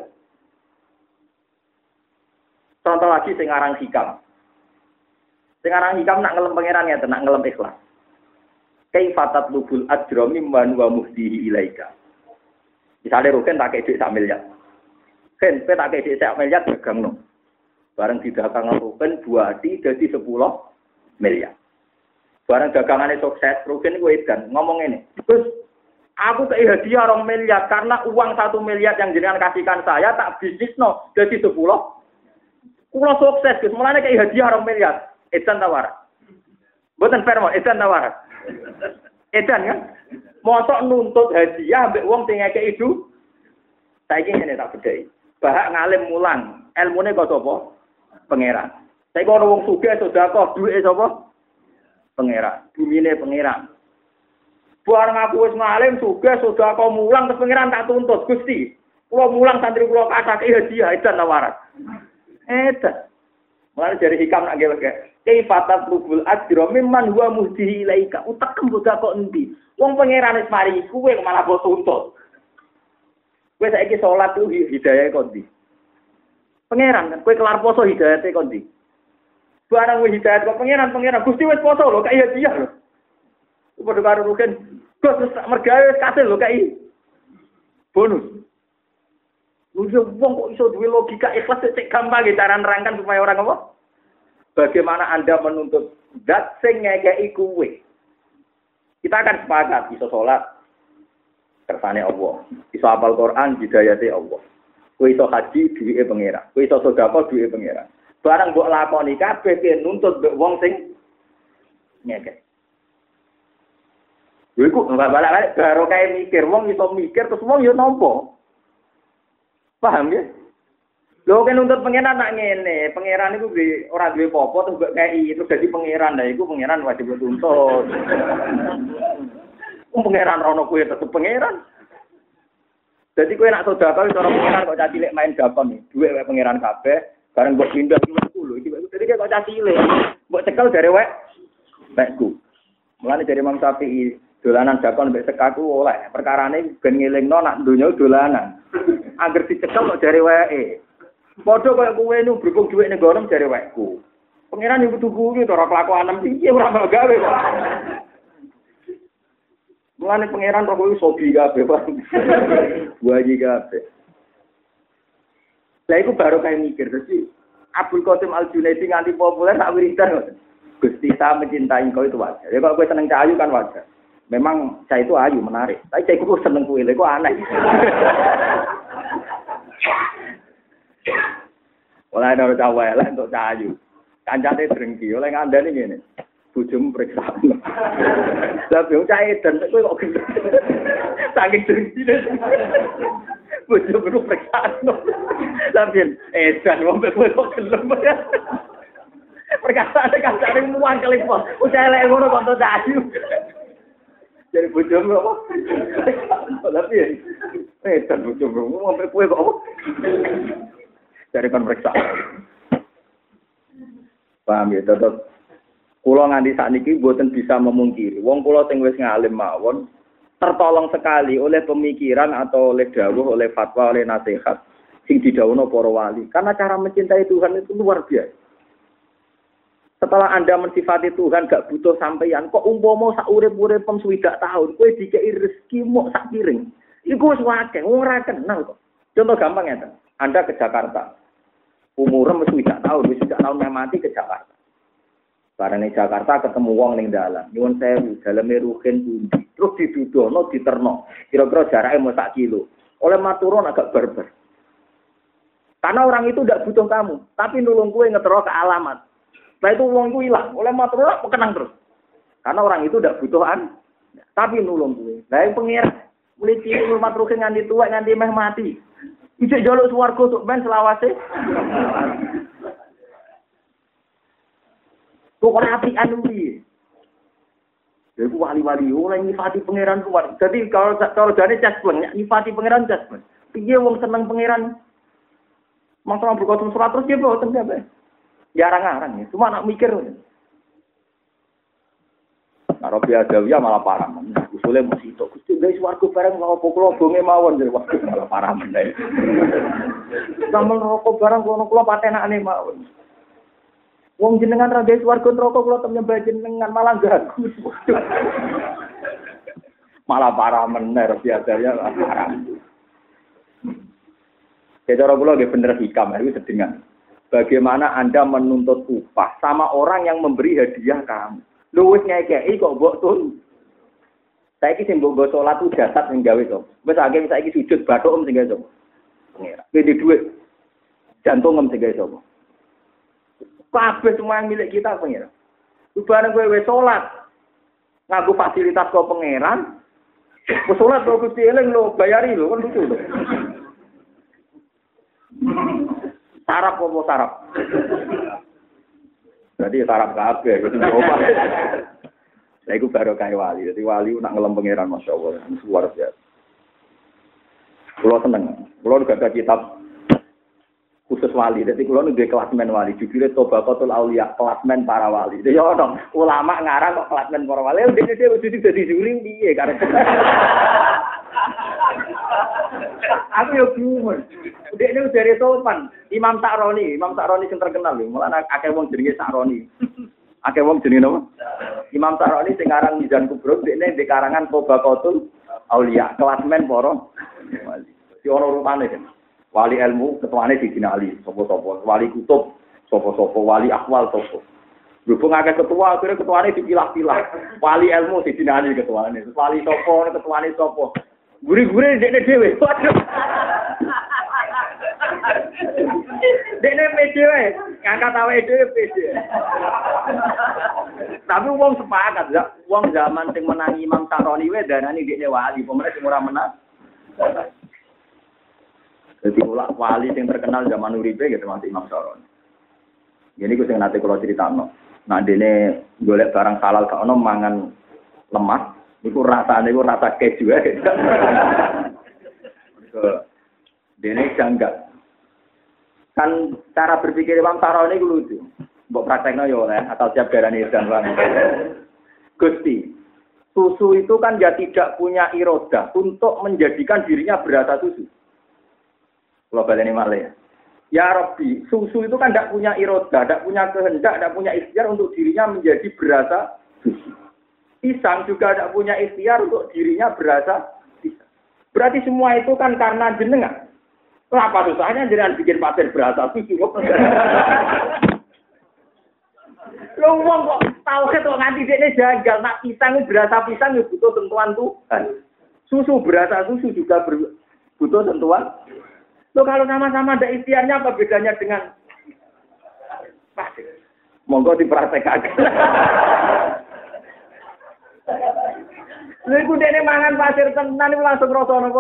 [SPEAKER 1] Contoh lagi sing aran hikam. Sing aran hikam nak ngelem pangeran ya, nak ngelem ikhlas. Kaifatat lubul ajra mimman wa muhdihi ilaika. Misale roken tak kei dhuwit sak miliar. Ken pe tak kei dhuwit sak miliar dagangno. Bareng didagang roken buati dadi sepuluh miliar. Bareng dagangane sukses, roken iku edan ngomong ngene. Terus aku kei hadiah rong miliar karena uang satu miliar yang jenengan kasihkan saya tak bisnisno dadi sepuluh. Kula sukses, Gus. Mulane kei hadiah rong miliar. Edan tawar. Mboten fair mo, edan tawar. Edan kan? Mosok nuntut hadiah mbek wong sing ngekeki itu. Saiki ngene tak bedheki. Bahak ngalim mulang, ilmune kok sapa? Pangeran. Saiki ana wong sugih sedekah duwike sapa? Pangeran. Bumine pangeran. Bareng aku wis ngalim sugih sedekah mulang terus pangeran tak tuntut, Gusti. Kula mulang santri kula kasake hadiah edan tawaran. Edan. Mulane dari hikam nak nggih wae. Kaifatat lubul ajra mimman huwa muhdihi ilaika. Utek kemboda kok endi? Wong pangeran wis mari kuwe malah kok tuntut. Kowe saiki salat ku hidayah kok ndi? Pangeran kan kowe kelar poso hidayate kok ndi? Barang wis hidayat kok pangeran pangeran Gusti wis poso lho kaya dia lho. Padha karo rugen. Gus mergawe wis kasil lho kai. Bonus. Lho wong kok iso duwe logika ikhlas cek gampang cara nerangkan supaya orang apa? Bagaimana Anda menuntut zat sing ngekeki kuwe? Kita akan sepakat iso salat kersane Allah. Iso hafal Quran hidayate Allah. Kowe iso haji duwike pangeran. Kowe iso sedekah duwike pangeran. Barang mbok lakoni kabeh ke nuntut mbek wong sing ngekeki. Lha iku ora balik-balik karo kae mikir wong iso mikir terus wong yo nampa. Paham ya? Lho kan nuntut pangeran nak ngene, pangeran iku ora duwe apa-apa terus mbok kei terus dadi pangeran. Lah iku pangeran wajib tuntut. Wong pangeran rono kuwi tetep pangeran. Jadi kowe nak sedekah cara pangeran kok cilik main dakon iki. Duwe wae pangeran kabeh, bareng mbok pindah sepuluh iki. Jadi kok cilik. Mbok cekel jare wae wekku. Mulane dari Imam Syafi'i dolanan dakon mbek sekaku oleh. Perkarane ben ngelingno nak donya dolanan. Angger dicekel kok jare wae. Padha kaya kowe nu berhubung dhuwit ning gono jare wekku. Pangeran yo kudu kuwi to ora kelakuan piye ora gawe kok. Mulane pangeran kok kuwi sobi kabeh, Pak. Waji kabeh. Lah iku baru kae mikir dadi Abdul Qasim Al-Junaidi nganti populer sak wiridan. Gusti ta mencintai kau itu wajar. Ya kalau kowe seneng cahayu kan wajar. Memang cah itu ayu menarik. Tapi cah iku seneng kuwi lho kok aneh. Oleh ora cawe lah untuk cahayu. Kancane drengki oleh ngandani ngene. Bojomu periksa. Lah yo cah edan kowe kok gendeng. Saking drengkine. Bojomu periksa. Tapi edan wong kowe kok gelem. Perkataan kancane muang kali po. Ucap elek ngono kok untuk cahayu. Jadi bojomu apa? Tapi edan bojomu ngombe kowe kok apa? Dari kan periksa. Paham ya, tetep kula nganti sakniki mboten bisa memungkiri. Wong kula sing wis ngalim mawon tertolong sekali oleh pemikiran atau oleh dawuh, oleh fatwa, oleh nasihat sing didhawuhna para wali. Karena cara mencintai Tuhan itu luar biasa. Setelah Anda mensifati Tuhan gak butuh sampeyan, kok umpama sak urip-uripem swidak tahun kowe dikeki rezeki mok sak piring. Iku wis akeh, wong ora kenal kok. Contoh gampang ya, Anda ke Jakarta. Umurnya mesti tidak tahu, mesti tidak tahu mati ke Jakarta. Barang di Jakarta ketemu wong ning dalan, nyuwun sewu, daleme ruhin pundi. Terus didudono, diterno. Kira-kira jaraknya mau sak kilo. Oleh maturun agak barbar. Karena orang itu tidak butuh kamu, tapi nulung kue ngetero ke alamat. Setelah itu wong ku hilang, oleh maturun kenang terus. Karena orang itu tidak butuhan, tapi nulung kue. Lah yang pengir, mulai cilik rumah ruhin nganti tua, nganti meh mati. Ijek jaluk swarga tok ben selawase. Kok ora apian kuwi. Iku wali-wali ora nyifati pangeran kuwi. Dadi kalau cara jane caspleng nyifati pangeran caspleng. Piye wong seneng pangeran? Masalah berkosong surat terus dia boten kabeh. Jarang-jarang ya, cuma nak mikir. Nah, Robi Adawiyah malah parah. Usulnya mesti itu. Gusti guys warga bareng rokok kula bonge mawon jadi waktu malah parah meneh. Sampeyan rokok bareng kula kula patenane mawon. Wong jenengan ra guys warga rokok kula tem nyembah jenengan malah gagu. Malah parah meneh Robi Adawiyah parah. Ya cara kula nggih bener hikam iki sedengan. Bagaimana Anda menuntut upah sama orang yang memberi hadiah kamu? Lu wis ngekeki kok mbok tun. Saiki sing mbok salat ku jasad sing gawe to. Wis akeh saiki sujud bathuk om sing gawe to. Pengira. Kuwi dhuwit jantung om sing gawe to. Kabeh semua yang milik kita pengira. Bareng kowe wis salat nganggo fasilitas kok pangeran. Wis salat kok Gusti eling lho bayari lho kan lucu lho. Sarap apa sarap? Berarti sarap kabeh gitu coba. Lah iku baru kaya wali. Jadi wali nak ngelem pangeran masyaallah luar biasa. Kulo seneng. Kulo gak ada kitab khusus wali. Jadi kulo nduwe kelasmen wali. Judulnya Tobaqatul Auliya, kelasmen para wali. Jadi ono ulama ngarang kok kelasmen para wali. Dene dhewe kudu dadi juri piye karep. Aku yo bingung. Dekne dari sopan, Imam Sa'roni, Imam Sa'roni sing terkenal lho, mulane akeh wong jenenge Sa'roni. Akeh wong jenenge napa? Imam Sa'roni sing aran Mizan Kubro, dekne di karangan Tobaqatul Auliya, kelasmen para wali. Si ono rupane kan. Wali ilmu ketuane Sidina Ali, sapa-sapa, wali kutub, sapa-sapa, wali akwal sapa. Berhubung akeh ketua, akhirnya ketuane dipilah-pilah. Wali ilmu Sidina Ali ketuane, wali sapa, ketuane sapa. Guri-guri dekne dhewe. Dekne pede wae, ngangkat awake dhewe pede. Tapi wong sepakat, wong zaman sing menangi Imam Sa'roni wae darani dekne wali, pemenang sing ora menang. Jadi ulama wali yang terkenal zaman uripe gitu masih Imam Saroni. Jadi gue sing nate kalau critakno. Nah dene golek barang halal gak ono mangan lemas, niku rasane niku rasa keju ae. Dene janggal. Kan cara berpikir Imam Saroni ku lucu. Mbok praktekno yo oleh atau siap darani edan wae. Gusti, susu itu kan ya tidak punya irodah untuk menjadikan dirinya berasa susu. Kalau baleni malih. Ya Rabbi, susu itu kan tidak punya irodah, tidak punya kehendak, tidak punya ikhtiar untuk dirinya menjadi berasa susu. Pisang juga tidak punya ikhtiar untuk dirinya berasa pisang. Berarti semua itu kan karena jenengan. Kenapa susahnya jenengan bikin pasir berasa susu? Lo wong kok tau kok nganti dekne janggal nak pisang berasa pisang ya butuh sentuhan Tuhan. Susu berasa susu juga ber, butuh sentuhan. Lo kalau sama-sama ada ikhtiarnya apa bedanya dengan pasir? Monggo dipraktekkan. Lha iku dekne mangan pasir tenan iku langsung rasa napa?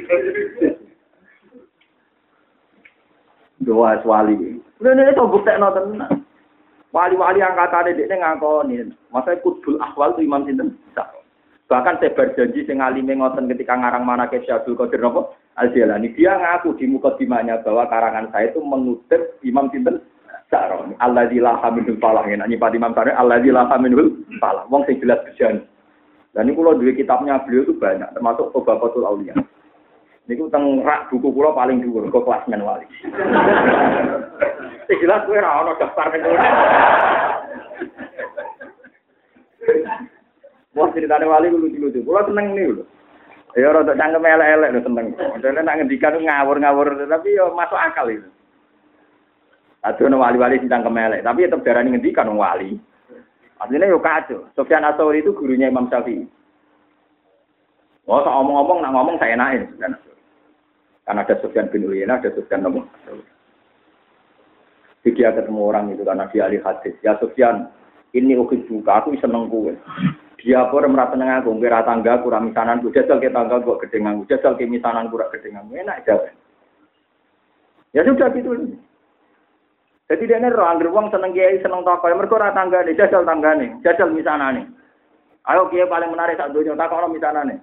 [SPEAKER 1] Doa wali. Lha nek to buktekno tenan. Wali-wali angkatane dekne ngakoni. Masa kutbul ahwal itu Imam sinten? Bahkan saya berjanji sing alime ngoten ketika ngarang manaqib Syaikhul Qadir napa? Al-Jilani. Dia ngaku di mukadimahnya bahwa karangan saya itu mengutip Imam sinten? Saroni. Alladzi la hamidul falah. Nek nyipati Imam Saroni alladzi la hamidul falah. Wong sing jelas berjanji. Dan ini kalau dua kitabnya beliau itu banyak, termasuk Tobakotul Aulia. Ini tentang rak buku pulau paling dhuwur, kok kelasmen wali. Sing jelas kowe ora ono daftar ning kono. Wah, ceritane wali ku lucu-lucu. Kula seneng niku lho. Ya ora tak cangkem elek-elek lho seneng. Modele nak ngendikan ngawur-ngawur tapi yo masuk akal itu. Adono wali-wali sing cangkem elek, tapi tetep darani ngendikan wong wali. Aslinya yo kacau. Sufyan Ats-Tsauri itu gurunya Imam Syafi'i. Oh, tak ngomong-ngomong, nak ngomong saya enakin. Karena ada Sufyan bin Uyainah, ada Sufyan Nabi. Jadi dia ketemu orang itu karena dia ahli hadis. Ya Sufyan, ini ukit buka, aku seneng kowe. Dia pun merasa seneng aku, kira tangga kurang misanan, jajal ke tangga gua gedengan, jajal ke misanan kurang gedengan. Enak aja. Ya sudah gitu. Jadi dia ini roh angger wong seneng kiai seneng tokoh, mergo ora tanggane, jajal tanggane, jajal misanane. Ayo kiai paling menarik sak donya takono misanane.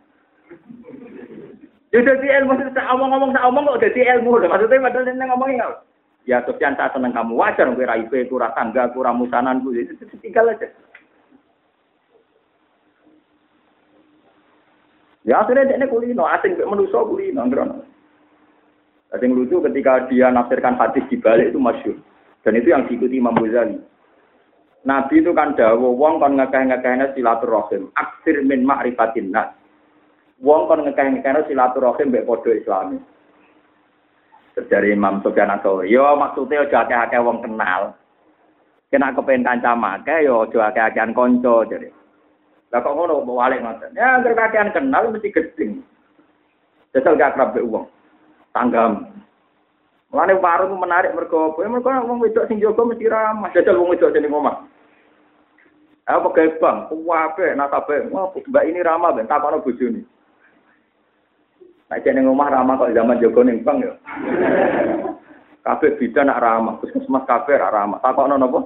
[SPEAKER 1] Ya dadi ilmu sak omong-omong sak omong kok dadi ilmu lho. Maksudnya padahal nek ngomongin enggak. Ya Sufyan tak seneng kamu wajar kowe ra ipe ora tangga, ora musananku. Itu tinggal aja. Ya akhirnya dia kulino, asing manusia kulino, ngerono. Asing lucu ketika dia nafsirkan hadis di balik itu masyhur. Dan itu yang diikuti Imam Ghazali. Nabi itu kan dawuh wong kon ngekeh-ngekehne silaturahim, aksir min ma'rifatin nas. Wong kon ngekeh-ngekehne silaturahim mbek padha Islami. Dari Imam Sufyan Ats-Tsauri, yo maksudnya aja akeh-akeh wong kenal. Kena kepen kanca akeh yo aja akeh-akehan kanca jare. Lah kok ngono mbok walik ngoten. Ya anggere kakehan kenal mesti gedeng. Jajal gak akrab mbek wong. Tanggam. Mulane warung menarik mergo apa? Mergo wong wedok sing jaga mesti ramah. Jajal wong wedok jeneng omah. Apa gawe bang? Kuwabe nasabe. Wah, mbak ini ramah ben takono bojone. Nek jeneng omah ramah kok zaman jaga ning bang ya. Kabeh bidan nak ramah, puskesmas kabeh ra ramah. Takono napa?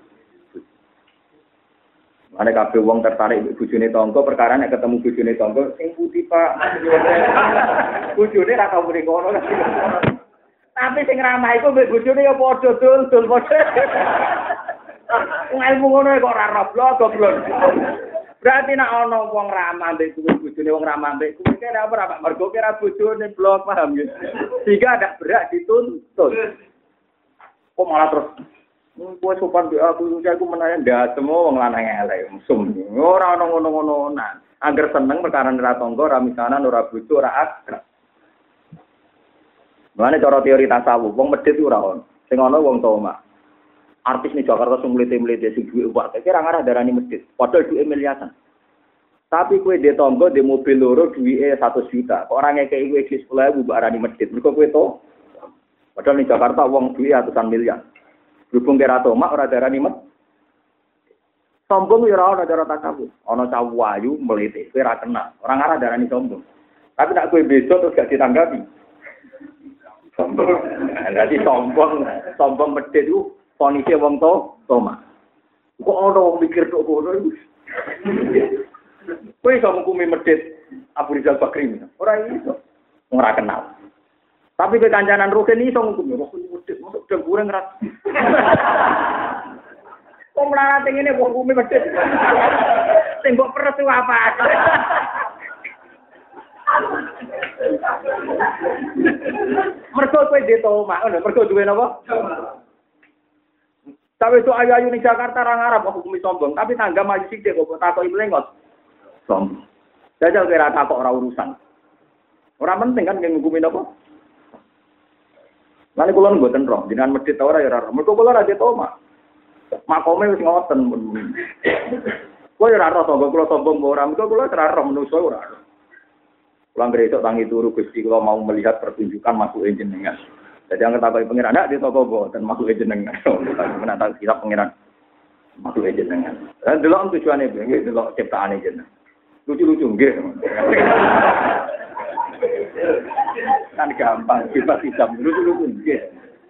[SPEAKER 1] Ane kabeh wong tertarik bojone tangga perkara nek ketemu bojone tangga sing putih Pak. Bojone ra tau mrene kono. Tapi sing ramah iku mbek bojone ya padha dul-dul padha. Wong ilmu ngono kok ora roblok goblok. Berarti nek ana wong ramah mbek kuwi bojone wong ramah mbek kuwi kira apa Pak? Mergo kira bojone blok paham ya. Sehingga ada berak dituntut. Kok malah terus kowe sopan mbek aku aku menawa ndak semua wong lanang elek mesum. Ora ana ngono-ngono nah. Angger seneng perkara ora tangga, ora misanan, ora bojo, ora akrab. Mulane cara teori tasawuf, wong medhit ora ono. Sing ana wong toma. Artis ning Jakarta sing mlete-mlete sing duwe uwak, kira ngarah darani medhit. Padahal duwe miliaran. Tapi kowe dhe tangga, dhe mobil loro duwike seratus juta. Kok ora ngekeki kowe sepuluh ribu mbok arani medhit. Mergo kowe to. Padahal ning Jakarta wong duwe ratusan miliar. Berhubung kira toma ora darani medhit. Sombong ya ora ana cara tasawuf. Ana cawu ayu mlete, kowe ora kenal. Ora ngarah darani sombong. Tapi nek kowe besok terus gak ditanggapi. Sombong. Berarti sombong, sombong medhit itu fonise wong to, toma. Kok ana wong mikir tok ngono iku. Kowe iso ngukumi medhit Abu Rizal Bakri. Ora iso. Ora kenal. Tapi ke kancanan Rukin iso ngukumi Rukin medhit, mosok dengkure ngerat. Kok mlarat ngene wong ngukumi medhit. Sing mbok peres apa? Mergo kowe dhe toma, ngono, mergo duwe napa? Tapi itu ayu-ayu ning Jakarta ra ngarep kok hukumi sombong, tapi tangga maju sithik kok takoki mlengot. Sombong. Jajal kira takok ora urusan. Ora penting kan ngukumi napa? Lan kula mboten roh, jenengan medhit ta ora ya ora. Mergo kula ra dhe toma. Makome wis ngoten. Kowe ora roh sombong, kula sombong ora, mergo kula ora roh menungso ora. Pulang besok tangi turu Gusti kalau mau melihat pertunjukan masuk jenengan. Jadi yang ketahui pengiran ada di toko bo dan masuk jenengan. Mana tahu kita pengiran masuk jenengan. Dan dulu tujuannya begini, dulu ciptaan jenengan. Lucu-lucu nggih. Kan gampang, kita bisa lucu-lucu nggih.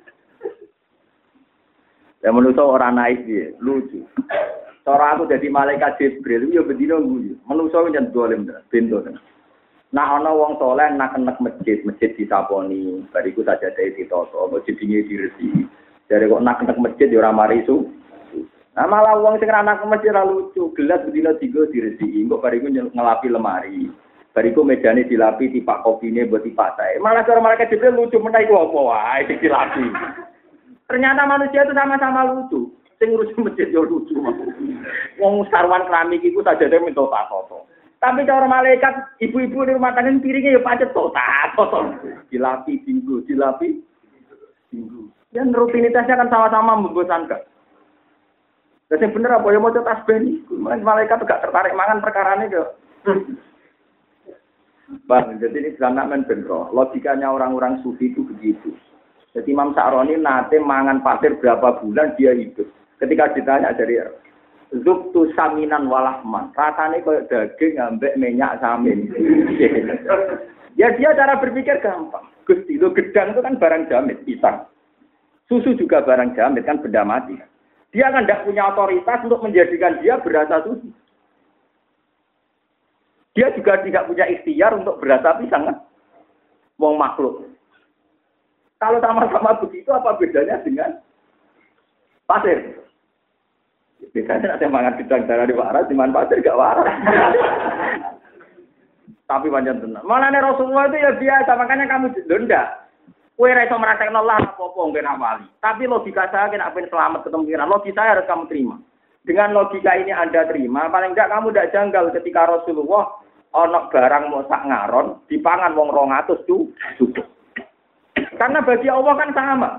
[SPEAKER 1] Ya menurut orang naik dia lucu. Cara aku jadi malaikat Jibril, yo bedino guyu. Menungso jan dolim bento. Nah ana wong saleh nak nek masjid, masjid disaponi, bariku saja dhewe ditoto, masjid dingi diresi. Dari kok nak nek masjid ya ora mari su. Nah malah wong sing ra nak masjid ra lucu, gelas bedino tiga diresi, kok bariku ngelapi lemari. Bariku mejane dilapi tipak kopine mbok tipak sae. Malah cara malaikat Jibril lucu meneh iku apa wae dilapi. Ternyata manusia itu sama-sama lucu. Sing ngurusi masjid yo lucu. Wong sarwan keramik iku sajane minta tato. Tapi cara malaikat ibu-ibu di rumah tangga piringnya ya pacet total, total. Dilapi minggu, dilapi minggu. Dan rutinitasnya kan sama-sama membosankan. Dan yang bener apa ya mau tasbih nih? Malaikat gak tertarik mangan perkara ini kok. Bang, jadi ini sebenarnya bener. Logikanya orang-orang sufi itu begitu. Jadi Imam Sa'roni nate mangan pasir berapa bulan dia hidup. Ketika ditanya dari Zubtu saminan walahman, rasanya kayak daging ambek minyak samin. Ya dia cara berpikir gampang. Gusti lo gedang itu kan barang jamit, pisang. Susu juga barang jamit kan benda mati. Dia kan tidak punya otoritas untuk menjadikan dia berasa susu. Dia juga tidak punya ikhtiar untuk berasa pisang kan? Wong makhluk. Kalau sama-sama begitu apa bedanya dengan pasir? Biasanya ada mangan bidang darah di waras, di mana pasir gak waras. Tapi panjang tenang. Malah nih Rasulullah itu ya biasa, makanya kamu denda. Kue raiso merasakan Allah apa-apa nggak nawali. Tapi logika saya kena pengen selamat ketemu pikiran. Logika saya harus kamu terima. Dengan logika ini Anda terima, paling enggak kamu tidak janggal ketika Rasulullah onok barang mau sak ngaron, dipangan wong rong atus tuh cukup. Karena bagi Allah kan sama.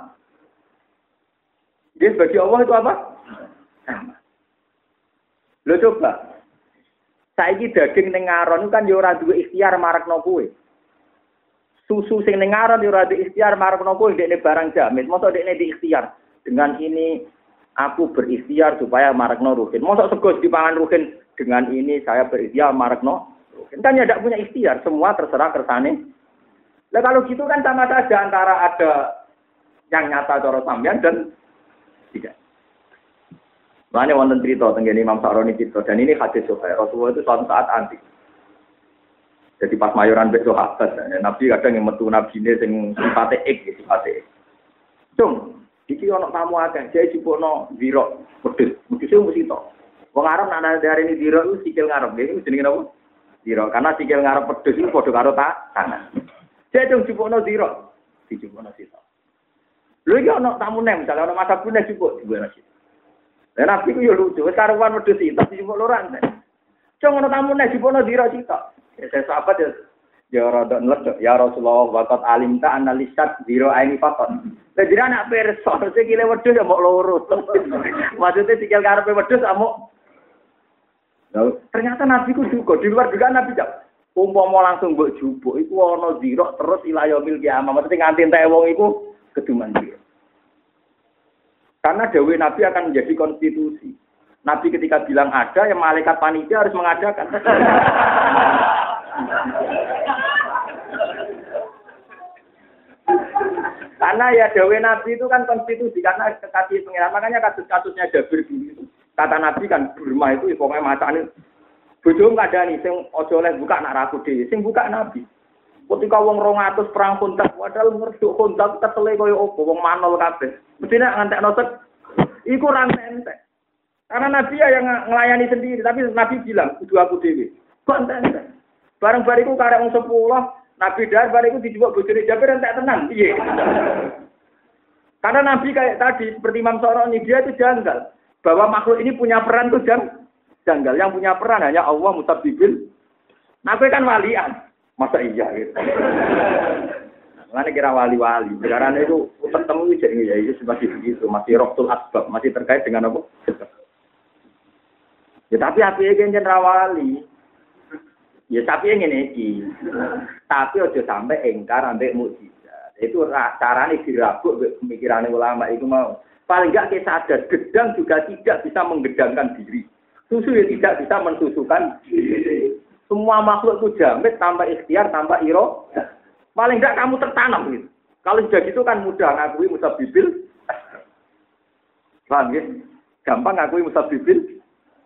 [SPEAKER 1] Jadi bagi Allah itu apa? Sama. Lo coba, saiki daging ning ngaron kan yo ora duwe ikhtiar marekno kowe. Susu sing ning ngaron yo ora duwe ikhtiar marekno kowe dekne barang jamin. Mosok dekne di ikhtiar. Dengan ini aku berikhtiar supaya marekno ruhin. Mosok sego dipangan ruhin, dengan ini saya berikhtiar marekno ruhin. Kan ya ndak punya ikhtiar, semua terserah kersane. Lah kalau gitu kan sama saja antara ada yang nyata cara sampean dan tidak. Makanya wonten cerita tentang Imam Sa'roni cerita, dan ini hadis Sahih. Rasulullah itu suatu saat antik. Jadi pas mayoran besok sahabat, Nabi kadang yang metu Nabi ini yang sifatnya ek, sifatnya ek. Cung, iki ono tamu akeh, jadi jupukno ziro, pedes, pedesnya mesti to. Wong Arab nak dari ini ziro itu sikil ngarep, ini jenenge apa? Ziro, karena sikil ngarep pedes itu padha karo tangan. Jadi cung jupukno ziro, dijupukno sito. Lha iki ono tamu nem, misalnya ono masak punya jupuk, jupukno sito. Dan Nabi ku yo lucu, wis karuan wedhus iki tapi jupuk loran. Cung ono tamu nek jupukno ziro sito. Ya saya sahabat ya ya rada nledok ya Rasulullah waqat alimta analisat zero aini fakon. Lah jira anak perso sikile wedhus ya mok loro. Maksudnya sikil karepe wedhus amuk. Nah, ternyata Nabi ku juga di luar juga Nabi jak. Umpama langsung mbok jupuk iku ana zero terus ila yaumil kiamah. Maksudnya nganti entek wong iku keduman zero. Karena dawuh Nabi akan menjadi konstitusi. Nabi ketika bilang ada, yang malaikat panitia harus mengadakan. Karena ya dawe Nabi itu kan konstitusi karena kekasih pengiran. Makanya kasus-kasusnya Jabir dulu. Kata Nabi kan Burma itu pokoknya macane bojo kadani sing aja oleh buka nak raku dhewe, sing buka Nabi. Ketika wong rong atus perang kontak, padahal ngerduk kontak kesele koyo opo wong manol kabeh. Mesti nek ngantekno sek iku ra entek. Karena Nabi ya yang ngelayani sendiri, tapi Nabi bilang kudu aku dhewe. Kok entek. Bareng bariku karek wong sepuluh, Nabi dar bariku dijupuk bojone Jabir entek tenan. Piye? Karena Nabi kayak tadi seperti Imam Syafi'i dia itu janggal bahwa makhluk ini punya peran tuh janggal. Yang punya peran hanya Allah Mutabbibil. Nabi kan walian. Masa iya gitu. Mana kira wali-wali. Sekarang itu ketemu jadi ya itu masih begitu, masih roktul asbab, masih terkait dengan apa? Ya tapi api yang jenderal wali. Ya tapi yang ini tapi ojo sampai engkar sampai mukjizat. Itu carane dirabuk pemikiran ulama itu mau. Paling enggak kita sadar gedang juga tidak bisa menggedangkan diri. Susu ya tidak bisa mensusukan diri. Semua makhluk itu jamit tanpa ikhtiar, tanpa iro. Paling enggak kamu tertanam gitu. Kalau sudah gitu kan mudah ngakui musabibil. Paham ya? Gampang ngakui musabibil.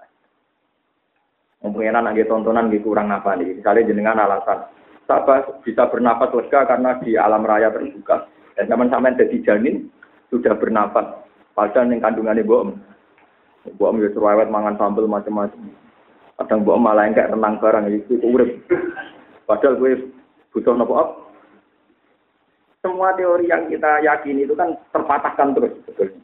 [SPEAKER 1] Mungkin anak tontonan gitu kurang apa nih. Misalnya jenengan alasan. Sahabat bisa bernafas lega karena di alam raya terbuka. Dan zaman sampai jadi janin sudah bernafas. Padahal yang kandungannya bohong. Bohong ya cerewet mangan sambal macam-macam. Kadang bohong malah yang kayak renang barang itu urip. Padahal gue butuh nopo up. Semua teori yang kita yakini itu kan terpatahkan terus sebetulnya.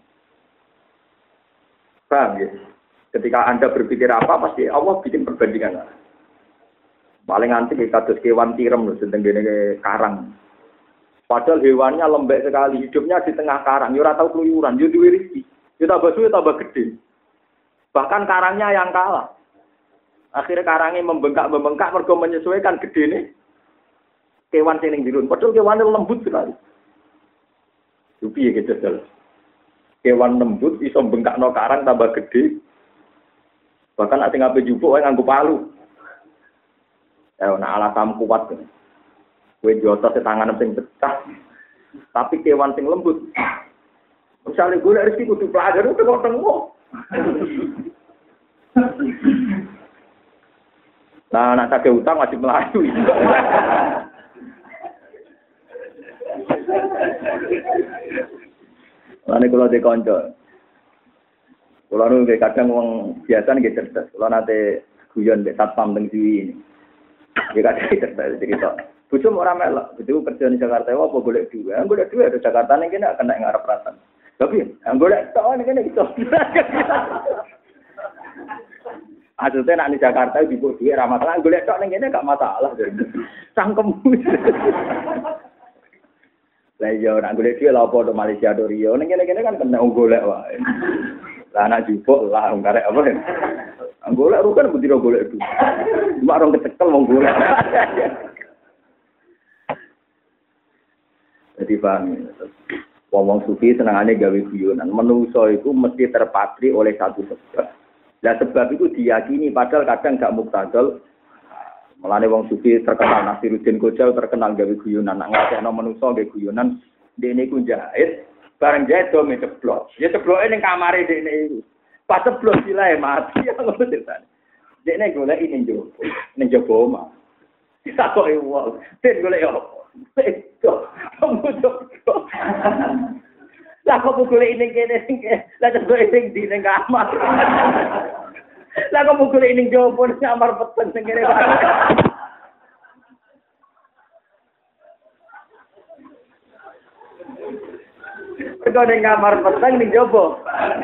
[SPEAKER 1] Paham ya? Ketika Anda berpikir apa pasti Allah bikin perbandingan. Paling nanti kita terus kewan tirem loh sedang gini karang. Padahal hewannya lembek sekali, hidupnya di tengah karang. Ya ora tau keluyuran, ya duwe rezeki. Ya tambah suwe tambah gede. Bahkan karangnya yang kalah. Akhirnya karangnya membengkak-membengkak mergo menyesuaikan gede nih. Kewan sing dirun. Padahal kewannya lembut sekali. Yupi ya gitu jelas. Kewan lembut iso bengkakno karang tambah gede. Bahkan ati ngape jupuk wae nganggo palu. Ya ana alasan kuat. Kowe jotos tangan sing pecah. Tapi kewan sing lembut. Misalnya gue rezeki kudu pelajar itu kok tengok. Nah, nak sakit utang wajib melayu. Lalu kalau di konco, kalau nu kadang uang biasa nih cerdas. Kalau nanti guyon be satpam teng diwi ini, dia kadang cerdas cerita. Bujuk orang melak, itu kerja di Jakarta, wah apa golek dua, golek dua di Jakarta nih kena kena ngarep ratan. Tapi, golek tak nih kena gitu. Maksudnya nak di Jakarta di bawah dia ramah masalah, golek tak nih kena gak masalah. Sangkem. Lah iya nak golek dia lah apa do Malaysia do Rio, nih kena kena kan kena golek wae. Lah anak jupuk lah karek apa ya? Golek rukan butiro golek dua. Cuma orang kecekel mau golek. Jadi paham ya. Wong sufi senangane gawe guyonan. Menungso itu mesti terpatri oleh satu sebab. Nah sebab itu diyakini padahal kadang gak muktadal. Mulane wong sufi terkenal Nasiruddin Kojal terkenal gawe guyonan. Nak ngakekno menungso gawe guyonan dene ku jahit, bareng jahit do ceblok. Ya cebloke ning kamare dene iku. Pas ceblok silae mati ya ngono ceritane. Dene golek ning jowo, ning jowo omah. Ditakoki wong, "Den golek opo?" Itu, kamu coba. Lah kamu golek ning kene sing lah coba sing di ning kamar. Lah kamu golek ning jowo ning kamar peten sing kene. Kau ning kamar peten ning jowo.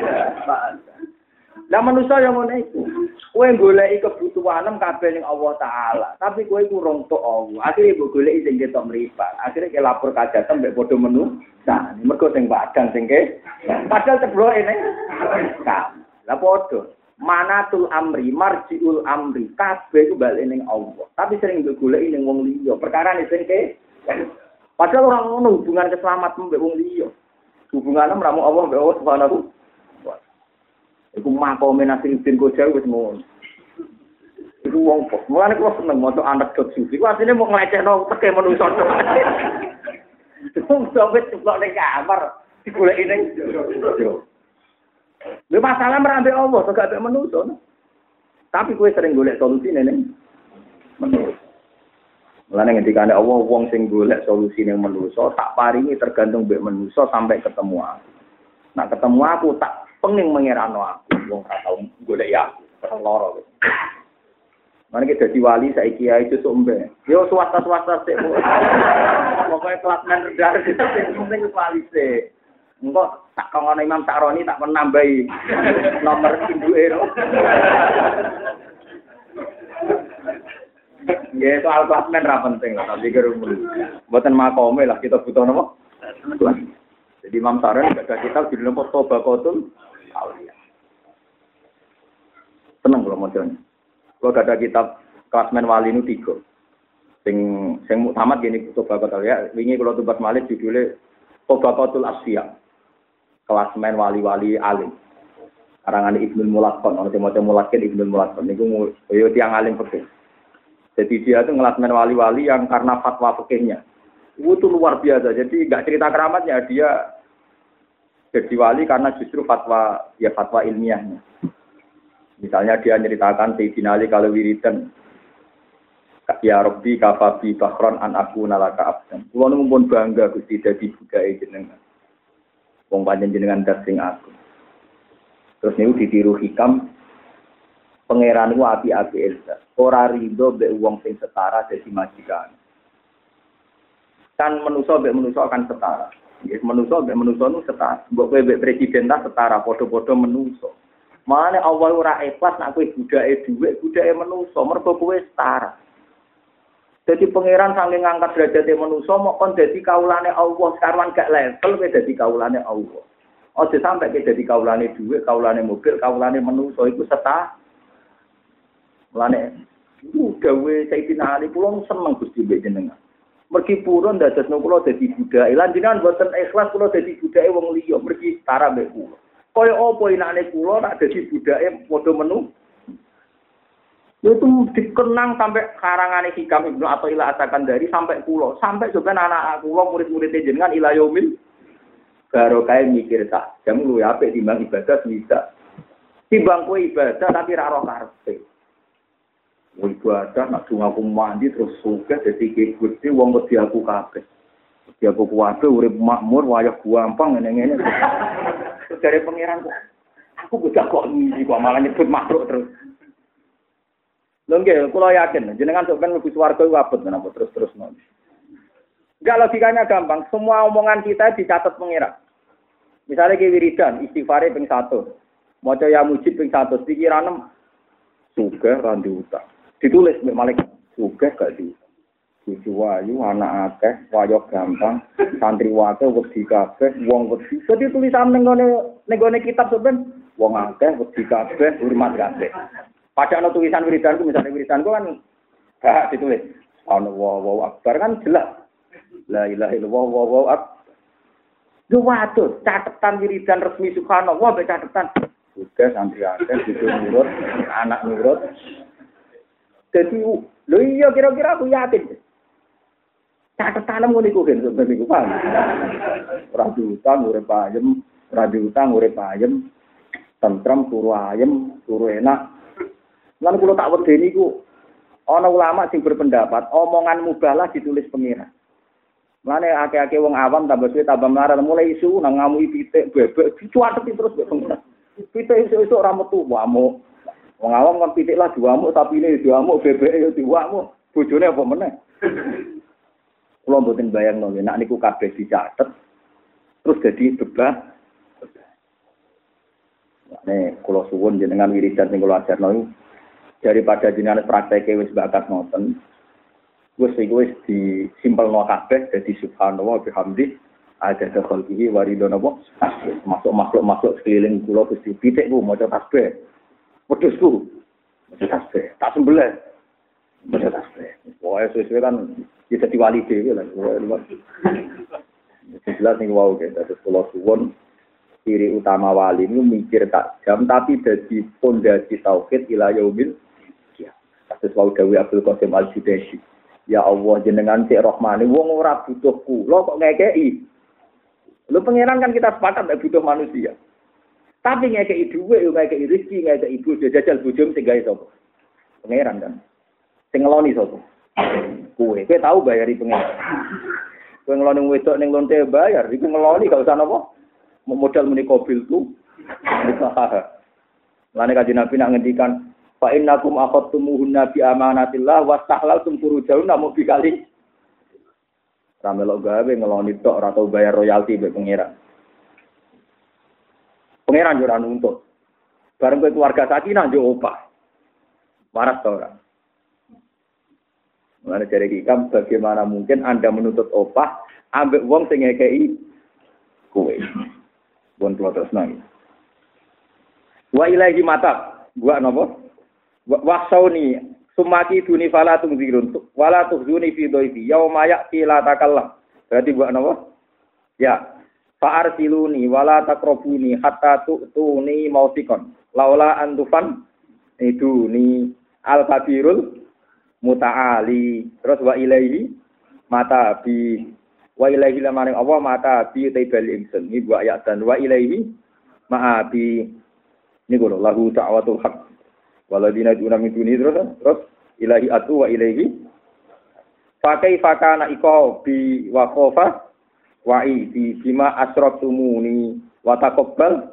[SPEAKER 1] Lah manusia yang ngono iku. Kowe goleki kebutuhanem kabeh ning Allah taala, tapi kowe iku rong tok Allah. Akhire mbok goleki sing ketok mripat. Akhire ke lapor kajatan mbek padha menu. Nah, mergo sing padang sing ke. Padahal cebloke ning. Lah padha. Manatul amri, marjiul amri, kabeh iku bali ning Allah. Tapi sering mbok goleki ning wong liya. Perkarane sing ke. Padahal ora ngono hubungan keselamatan mbek wong liya. Hubungane ramu Allah mbek Allah Subhanahu. Iku makome Nasiruddin Kojal wis ngono. Iku wong kok. Mulane kula seneng maca anekdot sufi. Ku asline mau nglecehno teke manungsa. Wong sampe ceplok ning kamar, digoleki ning yo. Lha masalah merambe Allah, kok gak manusa. Tapi kowe sering golek solusine ning manusa. Mulane ngendikane Allah wong sing golek solusine manusa, tak paringi tergantung mbek manusa sampai ketemu aku. Nah ketemu aku tak penging mengerano aku, wong gak tau golek ya aku, loro. Mane iki dadi wali saiki ae sesuk mbek. Yo swasta-swasta sik. Pokoke kelas men rendah sing penting wali sik. Engko tak kongone Imam Sakroni tak menambahi nomor induke ro. Ya soal klasmen ra penting lah, tapi kira mboten makome lah kita butuh napa? Jadi Imam Sakroni ada kitab judulnya Tobakotul Auliya. Tenang kalau modern. Kalau ada kitab klasmen wali nu tiga. Sing sing muktamad gini Tobakotul Auliya. Wingi kalau tubat malih judulnya Tobakotul Asfiya. Klasmen wali-wali alim. Karangan Ibnul Mulaqqan, ana maca Mulaqqan Ibnul Mulaqqan niku yo tiyang alim fikih. Jadi dia itu ngelasmen wali-wali yang karena fatwa fikihnya. Itu tuh luar biasa. Jadi enggak cerita keramatnya, dia jadi wali karena justru fatwa ya fatwa ilmiahnya. Misalnya dia ceritakan Sayyidina Ali kalau wiridan ya Rabbi kafabi bakhron an aku nalaka abdan. Kulo nu mumpun bangga Gusti dadi budake jenengan. Wong panjen jenengan dasing aku. Terus niku ditiru hikam pangeran ku api-api elsa. Ora rido mbek wong sing setara dadi majikan. Kan manusa mbek manusa akan setara. Nggih, manusa mbek manusa nu setara. Mbok kowe mbek presiden ta setara padha-padha manusa. Mane Allah ora ikhlas nek kowe budake dhuwit, budake manusa, mergo kowe setara. Jadi pangeran saking ngangkat derajate manusa mok kon dadi kaulane Allah, sekarang gak level kowe dadi kaulane Allah. Aja sampe kowe dadi kaulane dhuwit, kaulane mobil, kaulane manusa iku setara. Mulane iku gawe Sayyidina Ali kula seneng Gusti jenengan. Mergi purun ndadekno kula dadi budake. Lan jenengan boten ikhlas kula dadi budake wong liya, mergi setara mbek kula. Kaya apa enake kula nak dadi budake padha menu. Itu dikenang sampai karangane hikam Ibnu Athaillah asakan dari sampai kula, sampai sampeyan anak kula murid-murid jenengan ila yaumil barokah mikir tak. Jam luwih apik timbang ibadah bisa. Timbang kowe ibadah tapi ra ora karepe. Ibadah nak aku mandi terus sugih dadi Gusti wong wedi aku kabeh. Wedi aku kuwabe urip makmur wayah gampang ngene-ngene. Terus dari pangeran kok aku budak kok ngisi kok malah nyebut makhluk terus. Lho nggih, kula yakin jenengan sok ben mlebu swarga iku abot menapa terus-terus mawon. Enggak logikanya gampang, semua omongan kita dicatat pangeran. Misalnya ki wiridan istighfare ping satu. Maca ya mujib ping satu, pikiran sugih ra utang. Ditulis mek malaikat sugih gak di. Cucu wayu anak akeh, wayo gampang, santri wake wedi kabeh, wong wedi. Dadi tulisan ning ngene ning ngene kitab sampean wong akeh wedi kabeh, hormat kabeh. Padahal no tulisan wiridanku, misalnya wiridanku kan gak ditulis. Allahu Akbar kan jelas. La ilaha illallah wallahu akbar. Yo waduh, catatan wiridan resmi subhanallah mbek catatan. Sudah santri akeh disuruh nurut, anak nurut. Jadi lho iya kira-kira aku yakin. Catatan ngono iku kan sampeyan iku paham. Ora diutang urip ayem, ora diutang urip ayem. Tentrem turu ayem, turu enak. Lan kula tak wedeni iku ana ulama sing berpendapat omongan mubalah ditulis pengira. Mane akeh-akeh wong awam tambah suwe tambah melarat mulai isu nang ngamui pitik bebek dicuateti terus mbek pengira. Pitik iso-iso ora metu wamuk. Wong awam kan pitik lah diwamuk sapine diwamuk bebeke yo diwamuk. Bojone apa meneh? Kula mboten bayangno nek niku kabeh dicatet terus dadi bebas. Nek kula suwun jenengan wiridan sing kula ajarno daripada jenengan prakteke wis bakat ngoten wis iku wis disimpelno kabeh dadi subhanallah bihamdi ada khalqihi waridona wa masuk makhluk-makhluk sekeliling kula Gusti pitikku maca tasbih wedhusku maca tasbih tak sembelih maca tasbih wae sesuai kan bisa diwali dhewe lah jelas ning wau ge terus kula suwun ciri utama wali ini mikir tak jam tapi dadi pondasi tauhid ila yaumil. Kasus wau Dawi Abdul Qasim Al-Judaisi. Ya Allah jenengan sik Rahmane wong ora butuh kula kok ngekeki. Lho pangeran kan kita sepakat nek butuh manusia. Tapi ngekeki dhuwit yo ngekeki rezeki ngekeki ibu jajal bojomu sing gawe sapa? Pangeran kan. Sing ngeloni sapa? Kowe. Kowe tau bayari pangeran. Kowe ngeloni wedok ning lonte bayar, iku ngeloni gak usah napa? Modal muni mobil tu. Lane kanjeng Nabi nak ngendikan fa innakum akhadtumuhunna bi amanatillah wastahlaltum furujahunna namu bikali. Ramelok gawe ngeloni tok ora tau bayar royalti mbek pangeran. Pangeran yo ora nuntut. Bareng kowe keluarga sakinah yo opah. Waras ta ora? Mulane jare iki kam bagaimana mungkin Anda menuntut opah ambek wong sing ngekeki kowe. Bon kula terus nang. Wa ilahi mata, gua napa? Wa sauni sumati duni fala tungzirun wala tuhzuni fi dhaifi yauma ya'ti la takallam. Berarti gua napa? Ya. Fa arsiluni wala taqrabuni hatta tu'tuni mautikon. Laula antufan iduni al-kabirul muta'ali. Terus wa ilaihi mata bi wa ilaihi lamaring Allah mata bi taibal ingsun. Ini gua ayat dan wa ilaihi ma'a bi ini kalau lahu ta'watul haq waladina duna min duni terus terus ilahi atu wa ilaihi fa kaifa kana iqa bi wa khofa wa bi bima asraftumuni wa taqabbal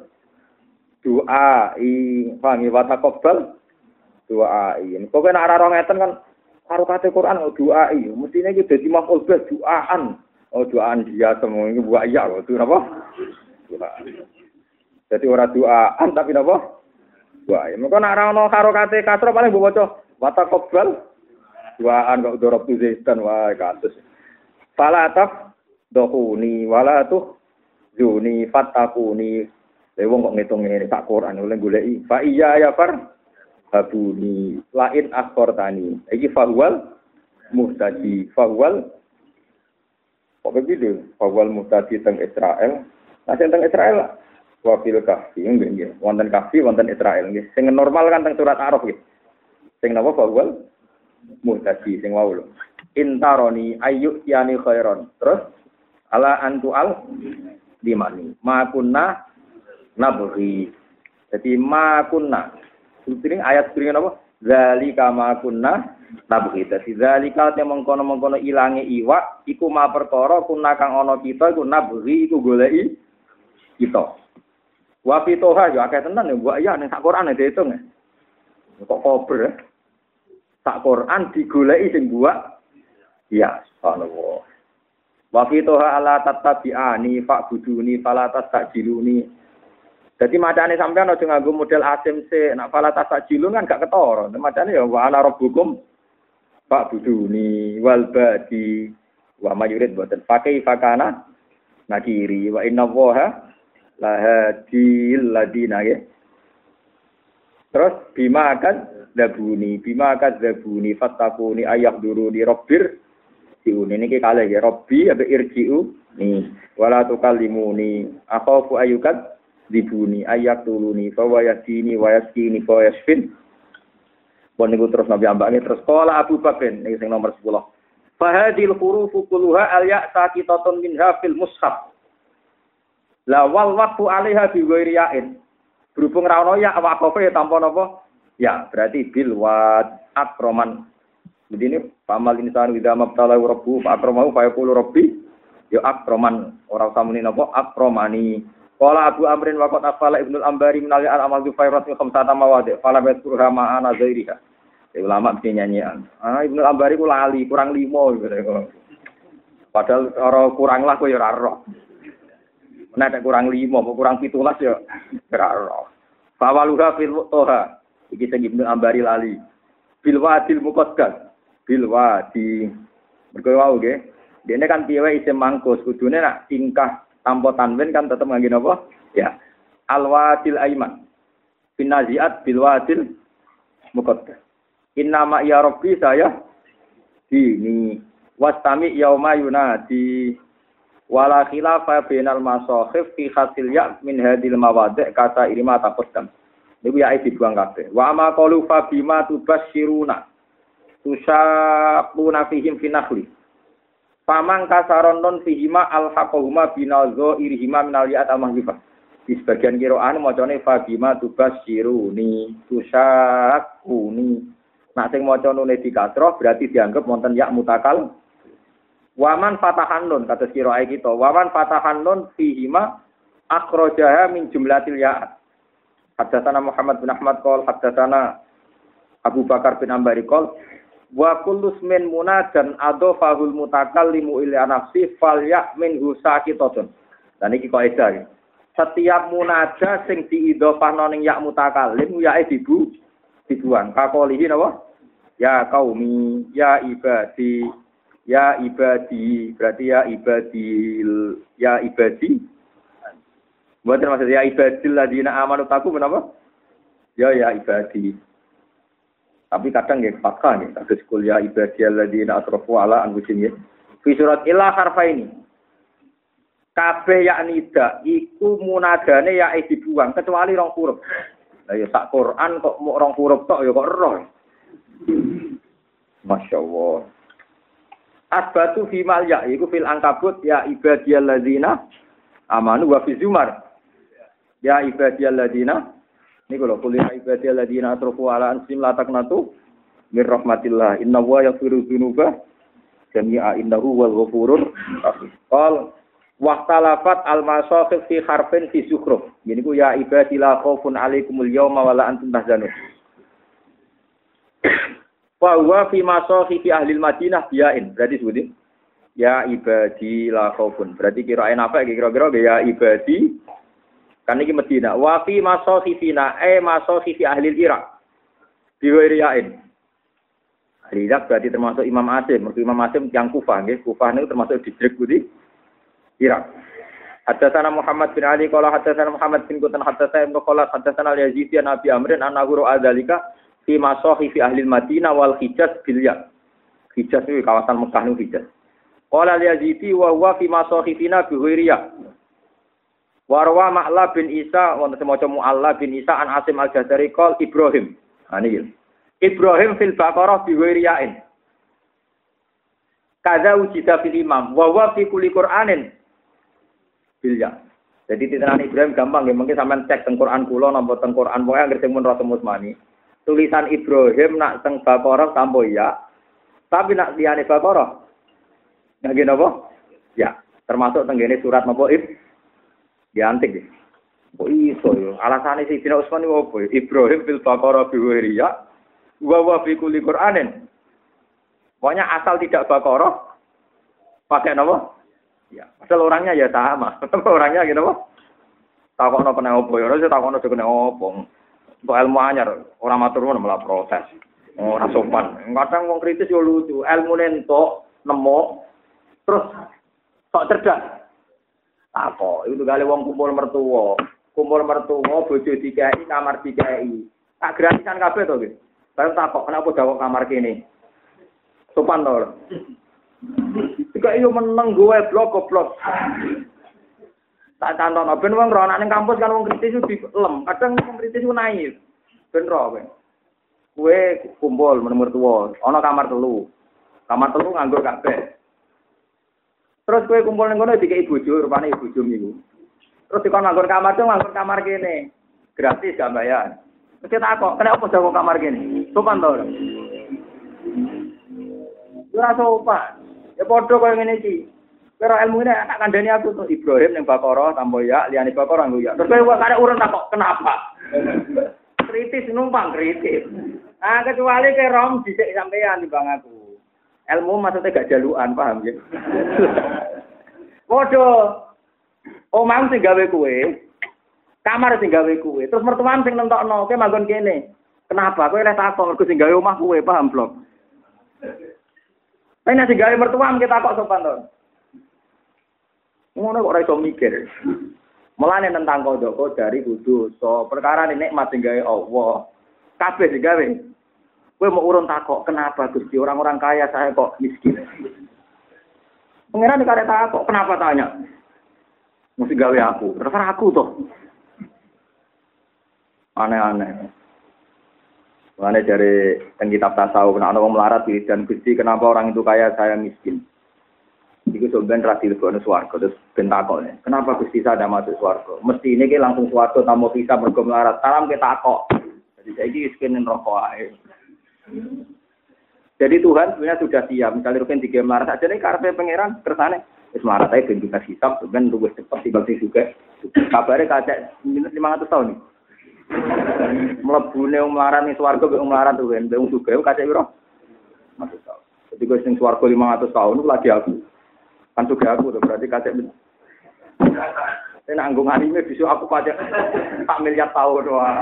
[SPEAKER 1] doa i fangi wa taqabbal doa i kok nek ora ngeten kan karo kate Quran doa i mestine iki dadi maf'ul bih doaan oh doaan dia semua iki buat ya kok itu napa doa. Jadi ora doaan tapi napa? Doa. Mengko nek ora ana harokate kasra paling mbok waca wa taqabbal doaan kok dorop tu zaitan wae kados. Fala taf dohuni wala tuh juni fatakuni. Lha wong kok ngitung ngene sak Quran oleh goleki fa iya ya far habuni lain akhortani. Iki fahwal muhtadi fahwal kok begitu fahwal muhtadi teng Israel. Nah teng Israel wafil kahfi nggih nggih wonten kahfi wonten Israel nggih sing normal kan teng surat Araf nggih sing napa fawal muhtadi sing wau lho intaroni ayu yani khairon terus ala antual dimani ma kunna nabghi jadi ma kunna ini ayat sing napa zalika ma kunna nabghi dadi zalika te mengkono-mengkono ilange iwak iku ma perkara kunna kang ana kita iku nabghi iku goleki kita. Wa fitoha yo akeh tenan ya mbok ya ning sak Quran diitung. Kok kober ya. Sak Quran digoleki sing buak. Ya, subhanallah. Wa fitoha ala tattabi'ani fa'buduni fala tastajiluni. Dadi macane sampean aja nganggo model asim se, nek fala tastajilun kan gak ketara. Macane ya wa ana rabbukum fa'buduni wal badi wa mayurid boten pakai fakana nakiri wa inna waha lahadil ladina ya. Terus bima akan dabuni, bima akan dabuni fatakuni ayak duru di robbir siun ini kalih ya robbi abe irjiu nih wala tukallimuni akhafu ayukat dibuni ayak tuluni fa wayasini wayaskini fa yasfin. Pun niku terus Nabi ambake terus qala Abu Bakar niki sing nomor sepuluh. Fa hadhil hurufu kulluha al ya saqitatun minha fil mushaf. La wal waqfu 'alaiha bi ghairi ya'in. Berhubung ra ono ya waqafe tanpa napa? Ya, berarti bil wa akroman. Begini pamal insan widza mabtala rabbu akramahu fa yaqulu rabbi ya akroman ora usah muni napa akromani. Qala Abu Amrin wa qad afala Ibnu al-Ambari min al-amal bi khairat khamsata mawadi fala yadhkurha ma'ana zairiha. Ulama mesti nyanyian. Ah Ibnu al-Ambari ku lali kurang lima gitu. Padahal ora kurang lah kok ya ora roh. Nek kurang lima, kurang pitulas ya ora roh. Fawaluha fil toha. Iki sing Ibnu Ambari lali. Bil wadil muqaddas. Bil wadi. Mergo wau nggih. Dene kan piye wae isim mangkus, kudune nak tingkah tanpa tanwin kan tetep ngangge napa? Ya. Al wadil aiman. Binaziat bil wadil muqaddas. Inna ma ya rabbi saya dini wastami yauma yunadi wala khilafa bainal masakhif fi khatil ya min hadil mawadi' kata irima taqaddam. Niku ya dibuang kabeh. Wa ma qalu fa bima tubasyiruna. Tusaquna fihim finakhli. Pamang kasaron non fihima alhaqahuma binazo irihima minal ya'at al-mahzifah. Di sebagian qira'ah macane fabima tubasyiruni tusaquni. Nek sing maca nune di kasrah berarti dianggap wonten ya mutakal. Waman fatahan nun kados qira'ah kita. Waman fatahan nun fihima akhrajaha min jumlatil ya'at. Haddatsana Muhammad bin Ahmad qol haddatsana Abu Bakar bin Ambari qol wa kullu ismin munadan adofahul mutakallimu ila nafsi falyak minhu sakitatun. Dan iki kaidah iki. Setiap munada sing diidhofahno ning ya mutakallim yae dibu dibuang. Kakolihi napa? Ya qaumi, ya ibadi, ya ibadi. Berarti ya ibadil, ya ibadi. Mboten maksud ya ibadil ladina amanu taku menapa? Ya ya ibadi. Tapi kadang nggih fathah nggih kados kul ya ibadiyal ladina asrafu ala anfusihim nggih. Fi surat ila harfaini. Kabeh yakni da iku munadane ya dibuang kecuali rong huruf. Lah ya sak Quran kok mok rong huruf tok ya kok roh. Masyaallah. Asbatu fi mal ya iku fil ankabut ya ibadiyal ladina amanu wa fi zumar. Ya ibadiyal ladina niku lho kul ya ibadiyal ladina asrafu ala anfusihim la taqnatu mir rahmatillah innallaha yaghfiru dzunuba jami'a innahu wal ghafurur rahim. Qal waqtalafat al-masakhif fi harfin fi zukhruf. Gini ku ya ibadi la khaufun 'alaikumul yawma wa la antum tahzanun. Wa huwa fi masakhif ahli al-Madinah bi'ain. Berarti sebutin ya ibadi la khaufun. Berarti kirain apa kira-kira ya ibadi kan iki Madinah. Wa fi masakhifina ay masakhif ahli al-Iraq. Biwiriyain. Ahli Iraq berarti termasuk Imam Asim. Mergo Imam Asim yang Kufah nggih. Kufah niku termasuk distrik Budi Irak. Haddatsana Muhammad bin Ali qala haddatsana Muhammad bin Qutan haddatsana Ibnu Khalas haddatsana Yazid an Abi Amrin annahu ra'adzalika fi masahif ahli Madinah wal Hijaz bil ya. Hijaz itu kawasan Mekah niku Hijaz. Qala Yazidi wa huwa fi masahifina bi ghairiya. Warwa Ma'la bin Isa wonten semaca Mu'alla bin Isa an Asim al-Jazari qol Ibrahim. Ha niki. Ibrahim fil Baqarah bi ghairiyain. Kaza ujida fil imam wa huwa fi kulli Qur'anin bilya. Jadi titenan Ibrahim gampang nggih mungkin sampean cek teng Quran kula napa teng Quran pokoke anggere sing mun Rasul Musmani. Tulisan Ibrahim nak teng Baqarah tambo ya. Tapi nak liyane Baqarah nggih napa? Ya, termasuk teng ngene surat napa Ib diantik nggih. Kok iso yo? Alasane Sayyidina Utsman niku opo? Ibrahim fil Baqarah bi wiriya wa wa fi kulli Qur'anin. Pokoknya asal tidak Baqarah pakai napa? Ya, asal orangnya ya sama. Orangnya gitu apa? Takokno kena opo ya, ora takokno kena opo. Untuk ilmu anyar, orang matur nuwun malah protes. Ora sopan. Kadang wong kritis yo lucu, ilmune entuk nemu terus sok cerdas. Takok, itu gale wong kumpul mertua. Kumpul mertua bojo dikai, kamar dikai. Tak gratisan kabeh to, nggih. Baru takok, kenapa dawuh kamar kene? Sopan to. Jika iyo meneng gue blok goblok. Tak cantono ben wong ro ning kampus kan wong kritis di lem. Kadang wong kritis ku naif. Ben ro kowe. Kowe kumpul meneng mertua, ana kamar telu. Kamar telu nganggo kabeh. Terus kowe kumpul ning kono dikeki bojo, rupane bojo niku. Terus dikon nganggo kamar tuh nganggo kamar kene. Gratis gak bayar. Terus tak kok, kenapa jago kamar kene? Sopan to. Ora sopan. Ya padha koyo ngene iki. Kira ilmu ini tak kandhani aku tuh Ibrahim ning Baqarah tambo ya, liyane Baqarah nggo ya. Terus kowe kok urun tak kok kenapa? Kritis numpang kritis. Ah kecuali ke rom dhisik sampean timbang aku. Ilmu maksudnya gak jalukan, paham ya? Padha omah sing gawe kowe, kamar sing gawe kowe, terus mertuan sing nentokno, kowe manggon kene. Kenapa? Kowe lek takon mergo sing gawe omah kowe, paham blok? Nek nek gawe mertuam kita kok sopan to. Ngono kok ora iso mikir. Mulane tentang kodoko dari kudu so perkara nikmat sing gawe Allah. Kabeh sing gawe. Kowe mau urun takok, kenapa Gusti orang-orang kaya saya kok miskin? Pengiran dikarek takok, kenapa tanya? Mesti gawe aku, terserah aku toh. Aneh-aneh. Mengenai dari kitab tasawuf, nah orang melarat dan Gusti kenapa orang itu kaya saya miskin. Itu sebenarnya radil bonus warga terus bentakok. Kenapa Gusti saya tidak masuk warga? Mesti ini kita langsung warga tamu bisa mergo melarat. Salam kita takok. Jadi saya ini miskinin rokok aja. Jadi Tuhan sebenarnya sudah siap. Misalnya Rukin tiga melarat aja nih karpe pangeran kersane. Wis melarat aja ben kita hisab ben luwes cepet timbang sing juga. Kabare kacek lima ratus tahun nih. Mlebune wong melarat ning swarga mek wong melarat tuh ben wong sugih kacek piro? lima ratus tahun. Jadi gue sing swarga lima ratus tahun itu lagi aku. Kan sugih aku tuh berarti kacek. Saya nanggung anime besok aku kacek tak miliar tahun wah.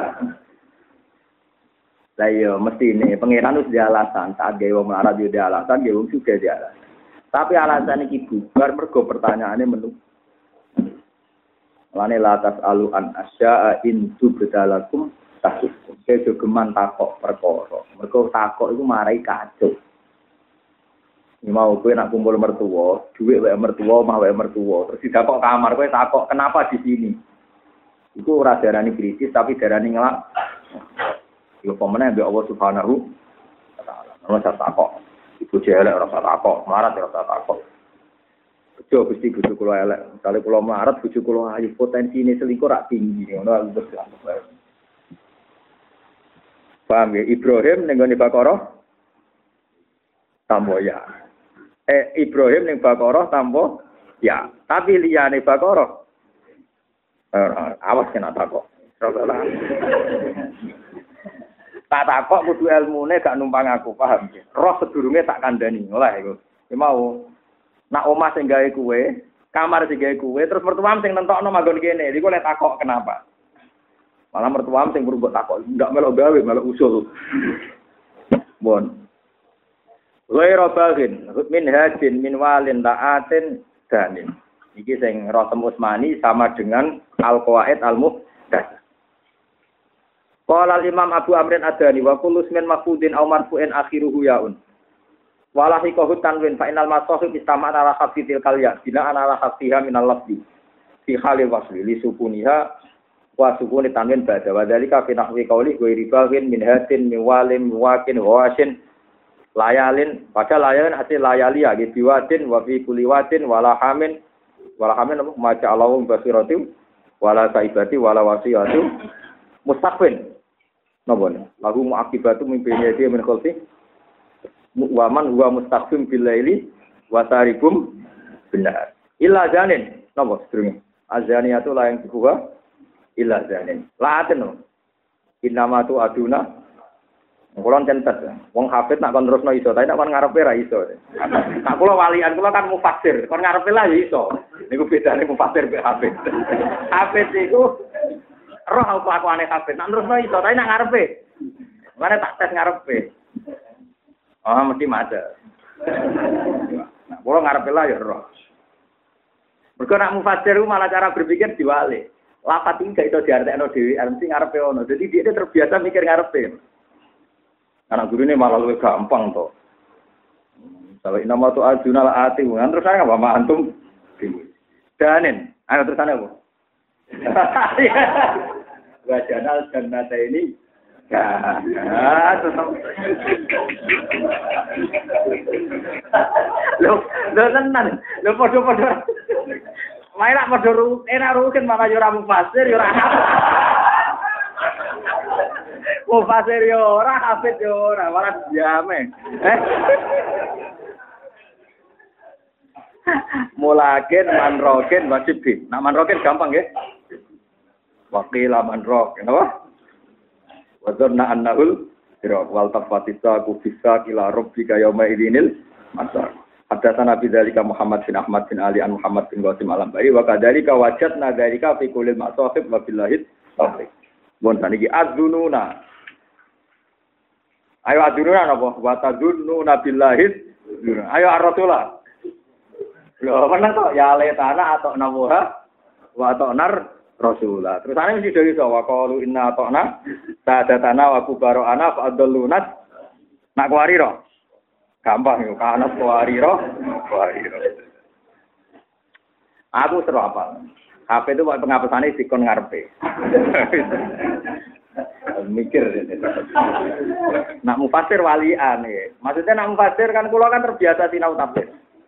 [SPEAKER 1] Lah iya mesti ini pangeran wis dia alasan saat gawe wong melarat yo dia alasan gawe wong sugih dia alasan. Tapi alasan iki bubar mergo pertanyaane menu. Lane latas alu an asya'a in tubdalakum tasuk. Sedo geman takok perkara. Mergo takok iku marai kacau. Ini mau kowe nak kumpul mertua, dhuwit wae mertua, omah wae mertua, terus didakok kamar kowe takok kenapa di sini. Iku ora darani kritis tapi darani ngelak. Iku pemene mbek Allah Subhanahu wa taala. Ora usah takok. Ibu jelek ora usah takok, marat ora usah takok. Bejo Gusti bojo kula elek. Misale kula melarat bojo kula ayu potensine selingkuh rak tinggi ngono aku wis anggap. Paham ya Ibrahim ning gone Baqarah tambo ya. Eh Ibrahim ning Baqarah tambo ya. Tapi liyane Baqarah eh awas kena takok. Tak takok kudu ilmune gak numpang aku, paham ya. Roh sedurunge tak kandhani. Olah iku. Ki mau nak omah sing gawe kuwe, kamar sing gawe kuwe, terus mertuam sing nentokno manggon kene. Iku lek takok kenapa? Malah mertuam sing perlu takok, ndak melok gawe, melok usul. Bon. Ghairu baghin, min hajin min walin ta'atin danin. Iki sing Rasul Utsmani sama dengan Al-Qawaid Al-Muhdatsah. Qala al-Imam Abu Amrin Adani wa kullu ismin mafudin aw marfu'in akhiruhu yaun. Walahi kohut tanwin fa inal masahib istama'an ala khafidil kalya bina ala khafiha minal lafzi fi khalil wasli li sukuniha wa sukuni tanwin ba'da wa dzalika fi nahwi qauli ghairi baghin min hatin min walim wakin wasin layalin pada layalin hasil layalia gitu wadin wa fi kulli wadin wala hamin wala hamin apa maca Allahu basiratim wala saibati wala wasiyatu mustaqbin napa lagu muakibatu mimpinnya dia min khalfi waman huwa mustaqim bil laili wa tarikum benar illa zanin napa sedurunge azaniatu la yang kedua illa zanin laaten no innama tu aduna kulon centet wong hafid nak kon terusno iso tapi nak kon ngarepe ra iso nak kula walian kula kan mufassir kon ngarepe lah ya iso niku bedane mufassir mbek hafid hafid iku roh kelakuane hafid nak terusno iso tapi nak ngarepe mane tak tes ngarepe. Oh, mesti maca. Nah, kalau ngarepe lah ya roh. Mergo nak mufassir malah cara berpikir diwale. Lafat iki gak iso diartekno dhewe, mesti ngarepe ono. Jadi dia terbiasa mikir ngarepe. Anak gurune malah luwih gampang to. Kalau inama tu ajunal ati, kan terus ana apa antum? Danen. Ayo terusane apa? Wajanal jannata ini ah, tetap. Lo, lo tenan, lo podo-podo. Main nak podo ru, enak rukin malah yo ora mufasir, yo ora hafid. Mufasir yo ora hafid yo ora, malah jame. Eh. Mulakin manrokin wajib. Nak manrokin gampang nggih. Waqila manrokin, apa? Wadzanna annahul siraq wal tafatisa kufisa ila rabbika yauma idinil masar. Hadatsana bi dzalika Muhammad bin Ahmad bin Ali an Muhammad bin Qasim al-Ambari wa kadzalika wajadna dzalika fi kulli ma'sahib wa billahi taufiq. Mun saniki adzununa. Ayo adzununa napa? Wa tadzununa billahi. Ayo ar-rasulah. Lho menang to ya letana atau namuha wa atau nar Rasulullah. Terus ana mesti dari sawa qalu inna ta'na sadatana wa kubarana fa adallunat. Nak kuwarira. Gampang yo kana kuwarira, kuwarira. Aku seru apa? H P itu pengapusane dikon ngarepe. mikir. Nak mufasir walian ya. Maksudnya nak mufasir kan kula kan terbiasa sinau tafsir.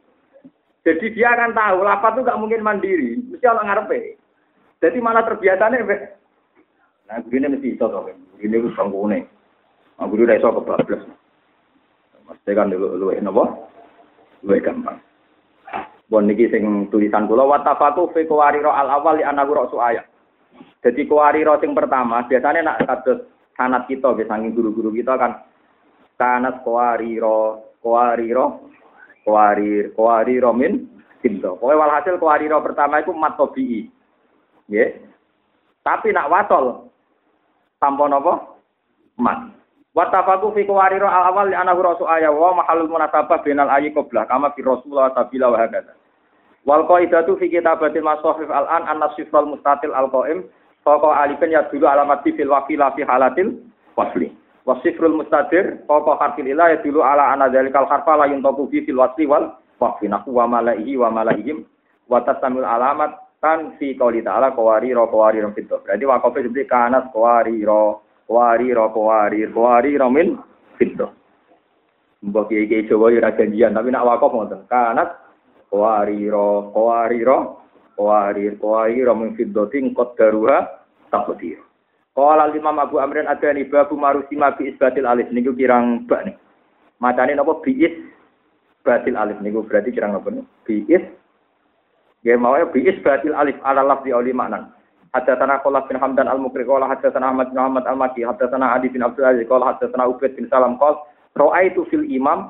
[SPEAKER 1] Jadi dia akan tahu lafaz itu gak mungkin mandiri, mesti ana ngarepe. Jadi malah terbiasane nah begini mesti iso to. Begini ku sanggune. Aku udah iso kebablas. Mesti kan luwih napa? Luwih gampang. Bon niki sing tulisan kula wa tafaqu fi qawariro al awal li anahu rasu ayat. Jadi qawariro sing pertama biasanya nak kados sanad kita nggih saking guru-guru kita kan sanad qawariro qawariro qawarir qawariro min sinto. Pokoke walhasil qawariro pertama iku mat tabii. Nggih. Tapi nak wasol tanpa napa? Mat. Wa tafaqu fi qawariro al awal li anahu rasu ayat wa mahallul munasabah bainal ayyi qabla kama fi rasulullah sabila wa hakadha. Wal qaidatu fi kitabatil masahif al-an an-nasifal mustatil al-qaim faqa alifan ya dulu alamat fil waqila fi halatil wasli. Wasifrul mustadir faqa harfil ila ya dulu ala anna dzalikal harfa la yuntaqu fi fil wasli wal waqfi nahu wa malaihi wa malaihim wa tasamul alamat kan fi qouli ta'ala qawariro qawarir fit. Berarti waqafe seperti kanas qawariro qawariro qawarir qawariro min fit. Mbok iki Jawa ya janjian tapi nak waqaf ngoten. Kanas qawariro qawariro qawarir qawariro min fiddatin qaddaruha taqdir. Qala Imam Abu Amrin Adani babu marusima bi isbatil alif niku kirang bak nih. Macane napa bi isbatil alif niku berarti kirang napa nih? Bi is nggih mawe bi isbatil alif ala lafzi auli maknan. Haddatsana Qullah bin Hamdan al-Mukri qala haddatsana Ahmad bin Muhammad al-Maki haddatsana Adi bin Abdul Aziz qala haddatsana Ubaid bin Salam qala ra'aitu fil imam.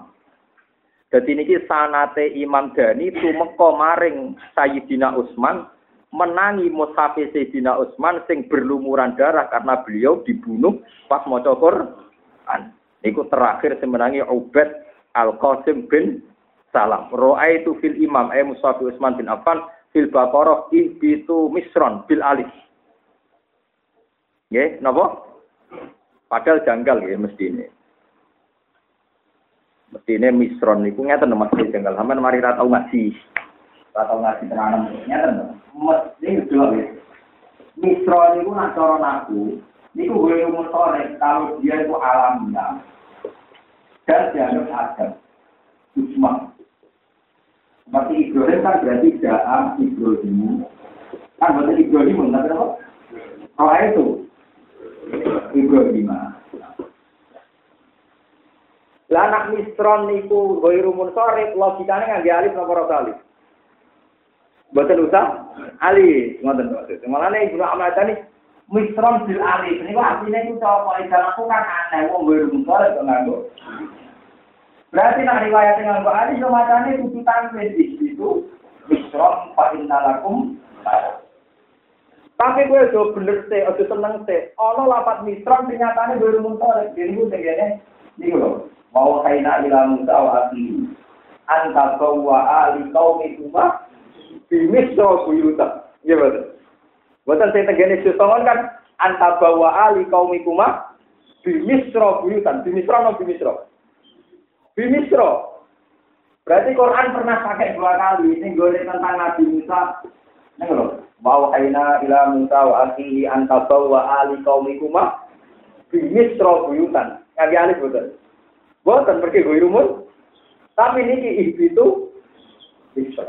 [SPEAKER 1] Jadi niki sanate Imam Dani tumeka maring Sayyidina Utsman menangi mushaf Sayyidina Utsman sing berlumuran darah karena beliau dibunuh pas maca Quran. Niku terakhir sing menangi Ubaid Al-Qasim bin Salam. Ra'aitu fil imam ay mushaf Utsman bin Affan fil Baqarah ibitu misron bil alif. Nggih, napa? Padahal janggal nggih mestine. Mestine misron niku ngeten mesti jenggal sampean mari ra tau ngaji. Ra tau ngaji tenanan ngeten. Mesti dhewe. Misron niku nak cara naku niku gue umur sore kalau dia itu alamiah. Dan dianggap adam. Usman. Seperti Ibrahim kan berarti Jaam Ibrahim. Kan berarti Ibrahim enggak apa? Oh itu Ibrahim. Lah anak misron niku ghairu munsharif logikane ngangge alif napa ora alif. Mboten usah alif, ngoten maksud. Mulane Ibnu Ahmad tani misron bil alif niku artine iku apa ikan aku kan aneh wong ghairu munsharif kok nganggo. Berarti nek riwayat nganggo alif yo macane kudu tanwin itu misron fa innalakum. Tapi kowe do bener teh, aja seneng teh. Ana lapat misron ternyatane ghairu munsharif. Niku tegene niku lho. Mau kaina ila Musa wa akhi anta qawa ali qaumi kuma bi misra buyuta. Nggih betul. Boten sing tegene sesongon kan anta bawa ali qaumi kuma bi misra buyutan. Bi misra no bi misra. Bi misra. Berarti Quran pernah pakai dua kali sing gole tentang Nabi Musa. Ning lho, mau kaina ila Musa wa akhi anta bawa ali qaumi kuma bi misra buyutan. Ngagi alif betul. Bukan pergi gue rumun, tapi niki itu bisa.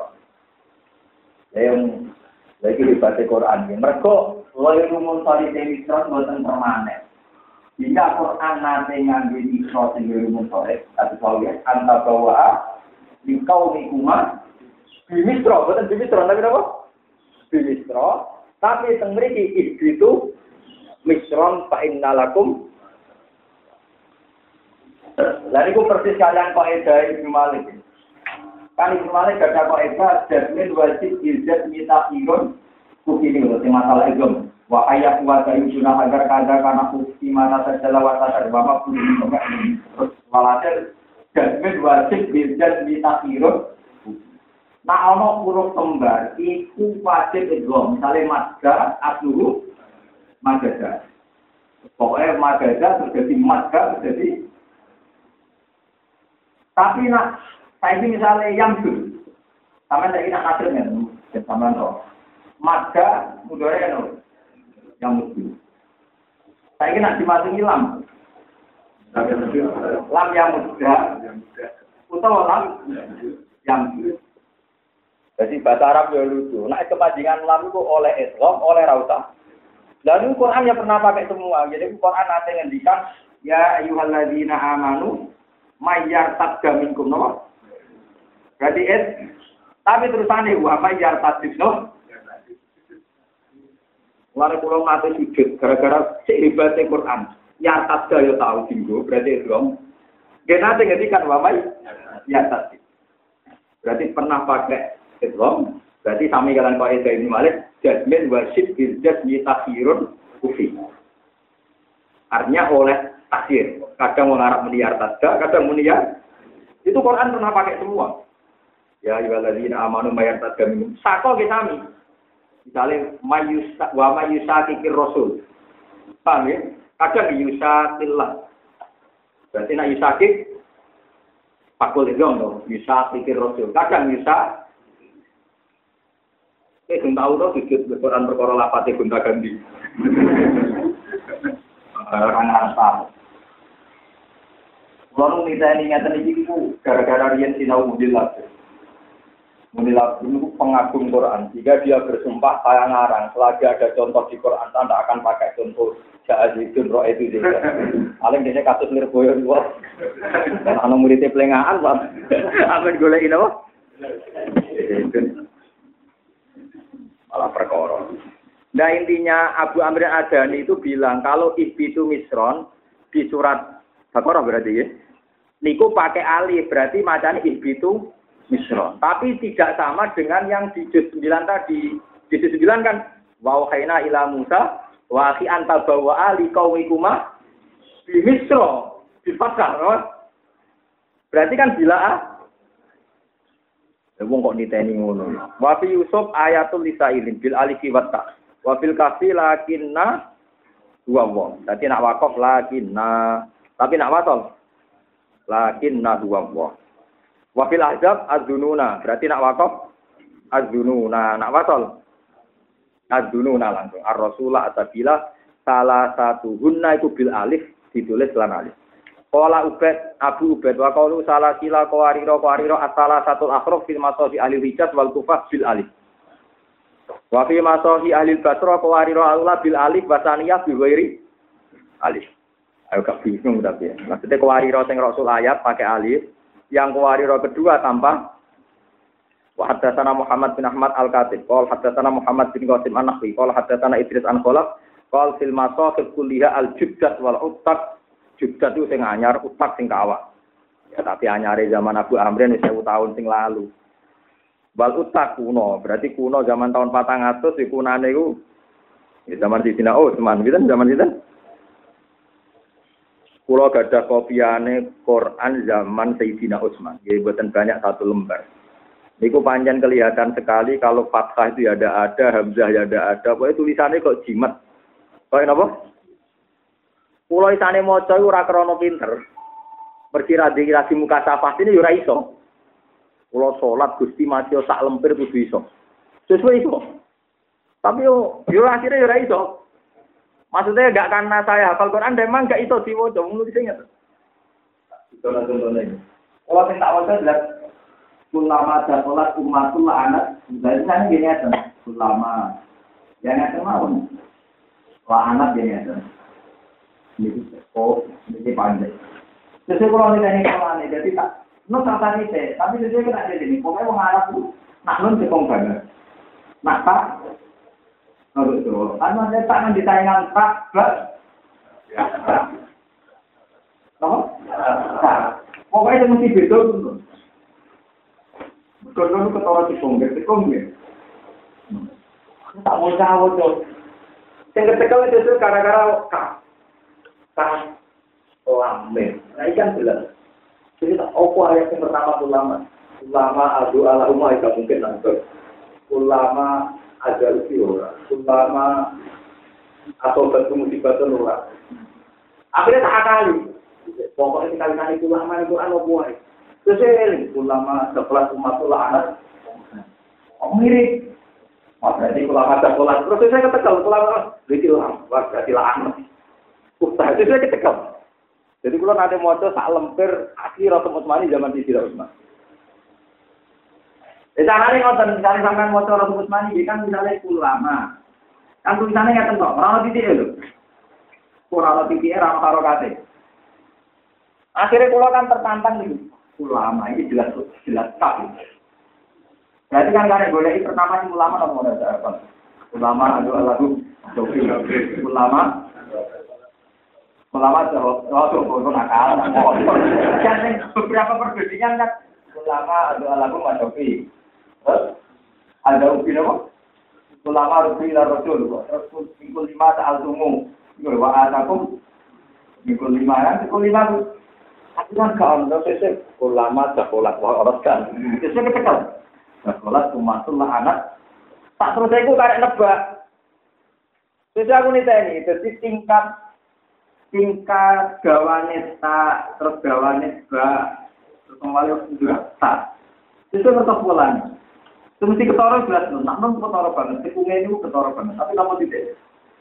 [SPEAKER 1] Yang lagi dibaca Quran ini, mereka loy rumun tadi demi terus bukan permanen. Jika Quran nanti ngambil ikhrot yang rumun tadi, tapi kalau ya anta bawa di kau nikuma, bimisro, bukan bimisro, tapi apa? Bimisro, tapi yang mereka itu misron fa'innalakum. Lalu itu persis kalian kaidah Ibnu Malik. Kan Ibnu Malik ada kaidah jazmin wajib izat mita irun kukini loh, masalah itu. Wa ayat wa tayyuna agar kada kana bukti mana sajalah wa sadar bapak pun enggak. Terus walhasil jazmin wajib izat mita irun. Nah ana huruf kembar iku wajib idgham. Misale madza asluhu madza. Pokoknya madza terjadi madza terjadi. Tapi nak, saya ini misalnya yang dulu, sama saya nak nasib kan, sama roh. Maka mudornya kan yang mesti. Saya kira nak dimasuki lam. Lam yang muda. Utawa lam yang muda. Jadi bahasa Arab ya lucu. Nah kepanjangan lam itu oleh Islam, oleh rauta. Lalu Quran yang pernah pakai semua. Jadi Quran nanti ngendikan ya ayyuhalladzina amanu mayyartadda minkum no. Berarti es. Tapi terusannya wa mayyartadda no. Wala kula mate sujud gara-gara sik hebate Quran. Ya tadda yo tau dinggo berarti Islam. Genate ngendikan wa mayyartadda. Berarti pernah pakai Islam, berarti sami kalian Pak Eda ini Malik, jazmin wasyid bil jazmi takhirun kufi. Artinya oleh takhir. Kadang mengarap meniar tadda, kadang meniar. Itu Quran pernah pakai semua. Ya ayyuhalladzina amanu mayartadda minkum. Sako ke sami. Misalnya mayusa wa mayusakikir rasul. Paham ya? Kadang yusatillah. Berarti nak yusakik pakul itu no, yusakikir rasul. Kadang yusak Eh, belum tahu tuh sujud Quran perkara lapate gonta ganti. Orang Arab. Kalau kita ini ngeten iki ku gara-gara riyen sinau mudilat. Mudilat itu pengagum Quran. Jika dia bersumpah saya ngarang, selagi ada contoh di Quran Anda akan pakai contoh Ja'azidun roh itu juga. Paling dia kasus Lirboyo dua. Ana muridé plengaan, Pak. Apa digoleki napa? Malah perkara. Nah intinya Abu Amr Adani itu bilang kalau ihbitu misron di surat Baqarah berarti ya. Niku pakai alif berarti macamnya ihbitu misron. Tapi tidak sama dengan yang di juz sembilan tadi. Di juz sembilan kan wa wahayna ila Musa wa akhi anta bawa ali qaumikuma bi misro di fathah. Berarti kan bila ah wong kok niteni ngono. Wa fi Yusuf ayatul lisailin bil alifi wa ta. Wa fil kafi lakinna dua wong. Dadi nak wakaf lakinna. Tapi nak wasal lakinna dua wong. Wa fil ahzab adzununa. Berarti nak wakaf adzununa. Nak wasal adzununa langsung. Ar-rasulah atabila salah satu hunna itu bil alif ditulis lan alif. Qala Ubaid Abu Ubaid wa qaulu salah sila qawariro qawariro asala satul akhraf fil masahi ahli Hijaz wal Kufah bil alif. Wa fi masahi ahli Basra qawariro Allah bil alif wa saniyah bi ghairi alif. Ayo gak bingung tapi ya. Maksudnya qawariro sing rasul ayat pakai alif, yang qawariro kedua tanpa wa haddatsana Muhammad bin Ahmad al-Katib, qala haddatsana Muhammad bin Qasim an-Nahwi, qala haddatsana Idris an Khalaf, qala fil masahif kulliha al-jubdat wal uttak. Juga itu sing anyar, utak sing kawak. Ya tapi anyare zaman Abu Amrin wis seribu tahun sing lalu. Wal utak kuno, berarti kuno zaman tahun patang atus iku kunane iku ya zaman Sidina Utsman, pinten zaman sinten? Kula gadah kopiane Quran zaman Sayyidina Utsman. Nggih mboten banyak satu lembar. Niku panjang kelihatan sekali kalau fathah itu ya ada ada, hamzah ya ada ada. Pokoknya tulisannya kok jimat. Kok napa? Pulau isane maca iku ora krana pinter. Pergi radhi-radhi muka safah ini ora iso. Pulau salat Gusti maca sak lempir kudu iso. Sesuai iso. Tapi yo yo akhirnya ora iso. Maksudnya enggak karena saya hafal Quran memang enggak iso diwaca ngono iki inget. Contoh-contohnya. Oh sing tak waca jelas ulama dan salat umatul anak. Jadi kan gini aja. Ulama yang ada mawon. Wa anak gini aja. Ini oh, ini pandai. Sesuai kalau ini teknik kalau ini jadi tak, no tak tadi teh, tapi sesuai kita ada ini. Pokoknya mengarah tu, nak non cekong banget. Nak tak, no betul. Karena dia tak nanti tayangan tak, tak, no, tak. Pokoknya dia mesti betul tu. Betul tu ketawa cekong, cekong dia. Tak mau jauh tu. Yang ketekal itu gara-gara kah. Kah lambe. Nah ikan jelas. Jadi tak opo ayat yang pertama ulama. Ulama adu ala umma itu mungkin nanti. Ulama ajar ora. Ulama atau batu musibah itu ora. Akhirnya tak kali. Pokoknya sekali-kali ulama itu anu buai. Terus ulama sekelas umatullah anak. Oh mirip. Berarti ulama sekelas. Terus saya katakan ulama itu ulama berarti lah anak. susah. Itu saya kecekel. Jadi kalau nanti mau sak lemper asli Rasul Utsmani zaman di Sira Utsman. Di sana nih nonton misalnya sampai mau Rasul Utsmani kan misalnya ulama. Kan tulisannya nggak tentu. Orang titik itu. Kurang titiknya ramah karo kate. Akhirnya kalau kan tertantang nih. Ulama ini jelas jelas tak. Berarti kan karena boleh pertama sih ulama nomor apa? Ulama adalah lagu Sofi. Ulama ulama jauh jauh jauh nakal. Kan beberapa perbedaan kan ulama adalah lagu Mas Sofi. Ada ubi apa? Ulama rubi la rasul. Rasul minggu lima soal tumu. Minggu wa atakum. Minggu lima kan minggu lima. Aku kan kawan, saya ulama sekolah orang kan. Itu saya kekal. Sekolah umatullah anak. Tak terus saya karek nebak. Terus aku nih tadi, jadi tingkat tingkat gawane tak, terus gawane ba, terus kembali juga tak. Itu tetap polanya. Itu mesti ketara jelas, nak non ketara banget. Tikungnya itu ketara banget, tapi kamu tidak.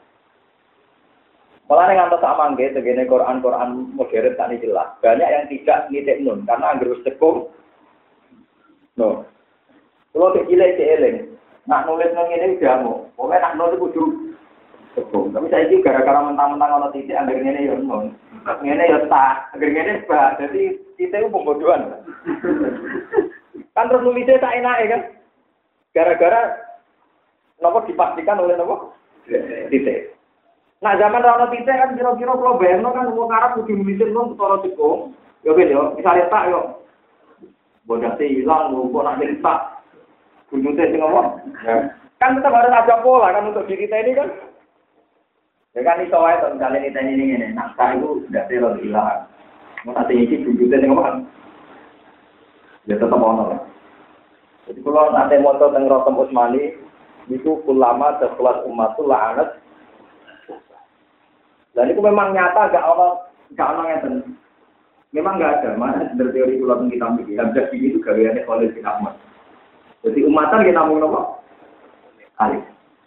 [SPEAKER 1] Malah yang antar sama nggih, tegene Quran-Quran modern tak jelas. Banyak yang tidak nitik nun karena anggar wis tekung. No. Kalau dikilek dieling, nak nulis nang ngene udah mau. Pokoke nak nulis kudu tekung. Tapi saiki gara-gara mentang-mentang ana titik anggar ngene ya nun. Ngene ya tak, anggar ngene bah. Jadi titik ku pembodohan. Kan terus nulisnya tak enake kan. Gara-gara napa dipastikan oleh napa? Titik. Nah zaman rano titik kan kira-kira kalau bayangno kan wong Arab kudu nulisin wong ketara tekung. Ya ben yo, misale tak yo. Bodate ilang kok nak tak. Kunjute sing ngomong. Kan tetap harus ada pola kan untuk diri kita ini kan. Ya kan iso wae to misale kita ini ngene. Nah, tak itu ndak terus ilang. Mau nanti iki kunjute sing ngomong. Ya tetap ono. Jadi kalau nanti moto teng Rasul Utsmani itu ulama sekelas umatul la'anat. Dan itu memang nyata, gak ono, gak ono yang memang gak ada. Mana dari teori pulau kita mikir, yang jadi itu gayanya Khalil bin Ahmad. Jadi umatan kita ngomong apa? Alif.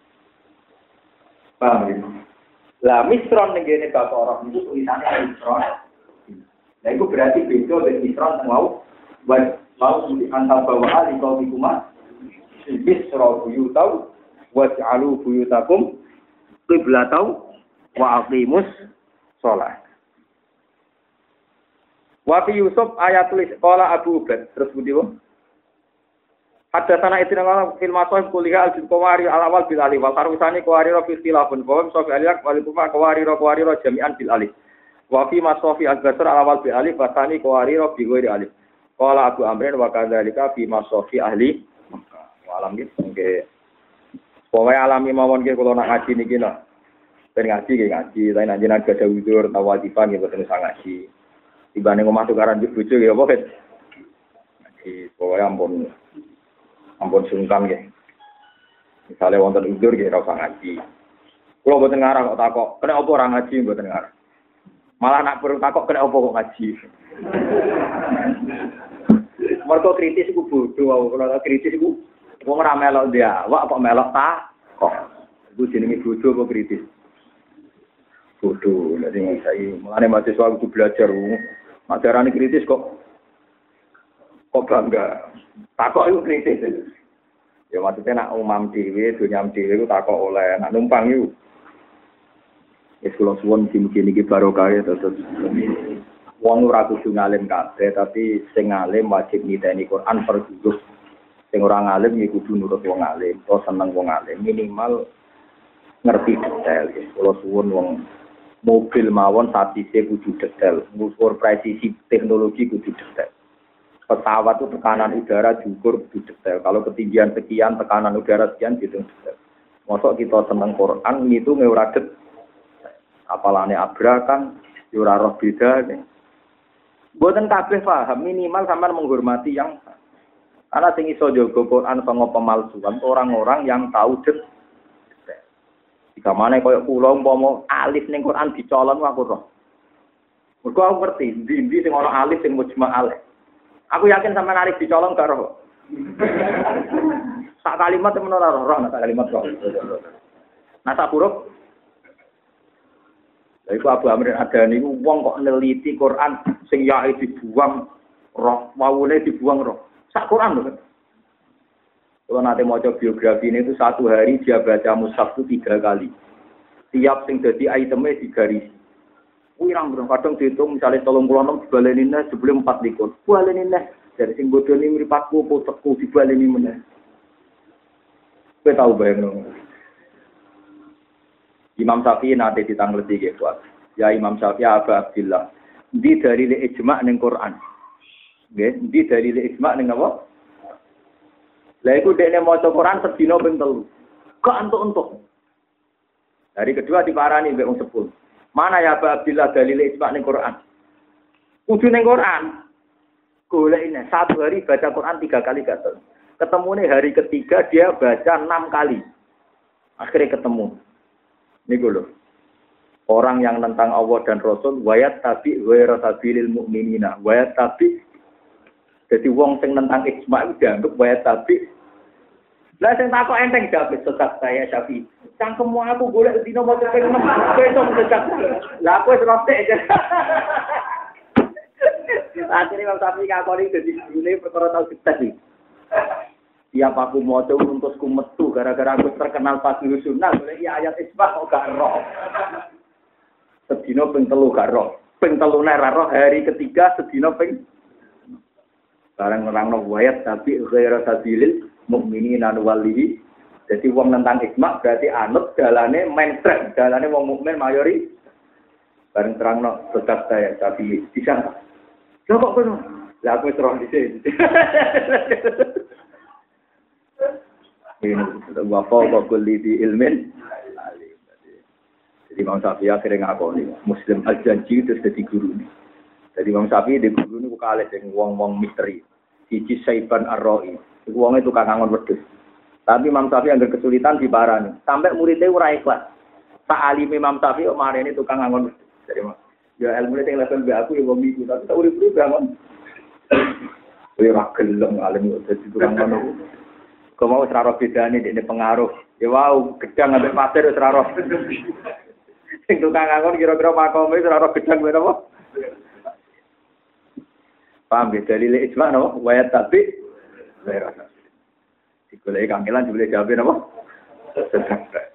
[SPEAKER 1] Paham gitu? Lah misron negene bapak orang itu tulisannya misron. Nah itu berarti beda dari misron mau buat mau antar bawa alif kau bikuma. Misro buyutau, waj'alu buyutakum qiblatau. Wa aqimus sholat. Wa fi Yusuf ayat tulis qala Abu Ubaid terus budi wong. Hadatsana idina qala fil masahib kuliah al-qawari al-awwal bil alif wa qarusani qawari fi istilafun wa sofi aliyak wal kufa qawari qawari jami'an bil alif. Wa fi masafi al-basr al-awwal bil alif wa tsani qawari bi ghairi alif. Qala Abu Amrin wa kadzalika fi masafi ahli Makkah. Wa alam iki nggih. Pokoke alami mawon nggih kula nak ngaji niki lho. Ben ngaji nggih ngaji, tapi nek jenengan gadah widur utawa wajibah nggih boten usah ngaji. Tibane omah tukaran bojo nggih apa kan? Ngaji, pokoke ampun ampun sungkan nggih. Misale wonten widur nggih ora usah ngaji. Kula boten ngarang kok takok, kena apa ora ngaji boten ngarang. Malah nak perlu takok kena apa kok ngaji. Mergo kritis iku bodho, kalau kritis iku wong ora melok dia, wak kok melok tak kok. Iku jenenge bodho apa kritis? Bodoh, jadi saya mulai mahasiswa itu belajar, ajaran kritis kok, kok bangga, takok itu kritis, ya maksudnya nak umam dewi, dunia dewi itu takok oleh, nak numpang itu, ya kalau suwon mungkin ini barokah ya terus, wong ora kudu ngalim kabeh, tapi sing ngalim wajib niteni Quran per juzuk, sing ora ngalim ya kudu nurut wong ngalim, atau seneng wong ngalim, minimal ngerti detail, ya kalau suwon wong mobil mawon statistik kudu detail, ngukur presisi teknologi kudu detail. Pesawat itu tekanan udara diukur kudu detail. Kalau ketinggian sekian, tekanan udara sekian gitu detail. Mosok kita seneng Quran itu ora detail. Apalane abrakan, ora roh beda nih. Mboten kabeh paham, minimal sampean menghormati yang ana sing iso jaga Quran sanga pemalsuan orang-orang yang tahu detail. Jika mana koyo kula umpama alif ning Quran dicolon aku roh. Mergo aku ngerti ndi-ndi sing ana alif sing mujma' alif. Aku yakin sampean alif dicolon gak roh. Sak kalimat temen ora roh, sak kalimat roh. Nah sak huruf. Lha iku Abu Amr Adani ku wong kok neliti Quran sing yae dibuang roh, wawune dibuang roh. Sak Quran lho. Kalau nanti mau coba biografi ini itu satu hari dia baca mushaf itu tiga kali. Tiap sing jadi itemnya digaris. Wirang bro, kadang dihitung misalnya tolong pulau enam dibaleninnya sebelum empat likur. Baleninnya dari sing bodoh ini meripatku potekku dibaleni mana. Kita tahu bayang dong. Imam Syafi'i nanti ditanggleti gitu. Ya Imam Syafi'i Abu Abdillah. Di dari li ijma' ning Quran. Nggih, di dari li ijma' ning apa? Lah iku dekne maca Quran sedina ping telu. Gak entuk-entuk. Hari kedua diparani mbek wong sepuluh. Mana ya Pak Abdillah dalil ijma' ning Quran? Kudu ning Quran. Golek ini satu hari baca Quran tiga kali gak tahu. Ketemune hari ketiga dia baca enam kali. Akhirnya ketemu. Niku lho. Orang yang tentang Allah dan Rasul wayat tabi wa rasabilil mukminina. Wayat tabi jadi wong sing nentang ijma' itu dianggap wayat tabi. Lah sing takok enteng jawab sesat saya Syafi'i. Cangkemmu aku golek dino maca ping enam. Kowe iso sesat. Lah aku wis rotek aja. Akhirnya Imam Syafi'i ngakoni dadi gune perkara tau sesat iki. Tiap aku maca untusku metu gara-gara aku terkenal Fadhil Sunnah golek ayat ijma' kok gak roh. Sedina ping telu gak roh. Ping telune ra roh hari ketiga sedina ping barang nerangno wayat tapi ghaira sabilil mukminina walihi. Jadi wong nentang ijma berarti anut dalane mainstream, dalane wong mukmin mayori. Bareng terangno tetap saya tapi bisa. Lha kok ngono? Lah aku wis roh dhisik. Ini wa fawqa kulli di ilmin. Jadi Imam Syafi'i akhirnya ngakoni Muslim al-Janji itu jadi guru ini. Jadi Imam Syafi'i di guru ini bukan alis yang wong-wong misteri. Siji Saiban Ar-Ra'i. Iku wonge tukang ngangon wedhus. Tapi Imam Syafi'i anggar kesulitan di barani. Sampai muridnya ora ikhlas. Tak alim Imam Syafi'i kok marene tukang ngangon wedhus. Jadi ya ilmu sing level mbek aku ya wong iku, tapi tak urip-urip bangun. Kowe ora gelem alim dadi tukang ngono. Kok mau ora ro bedane dekne pengaruh. Ya wau, gedang ambek pasir wis ora ro. Sing tukang ngangon kira-kira makome wis ora ro gedang ben apa? Paham ya, dalil ijma' no, wayat tapi wayat tapi. Dikulai kangelan, dikulai jawabin apa? Sedang.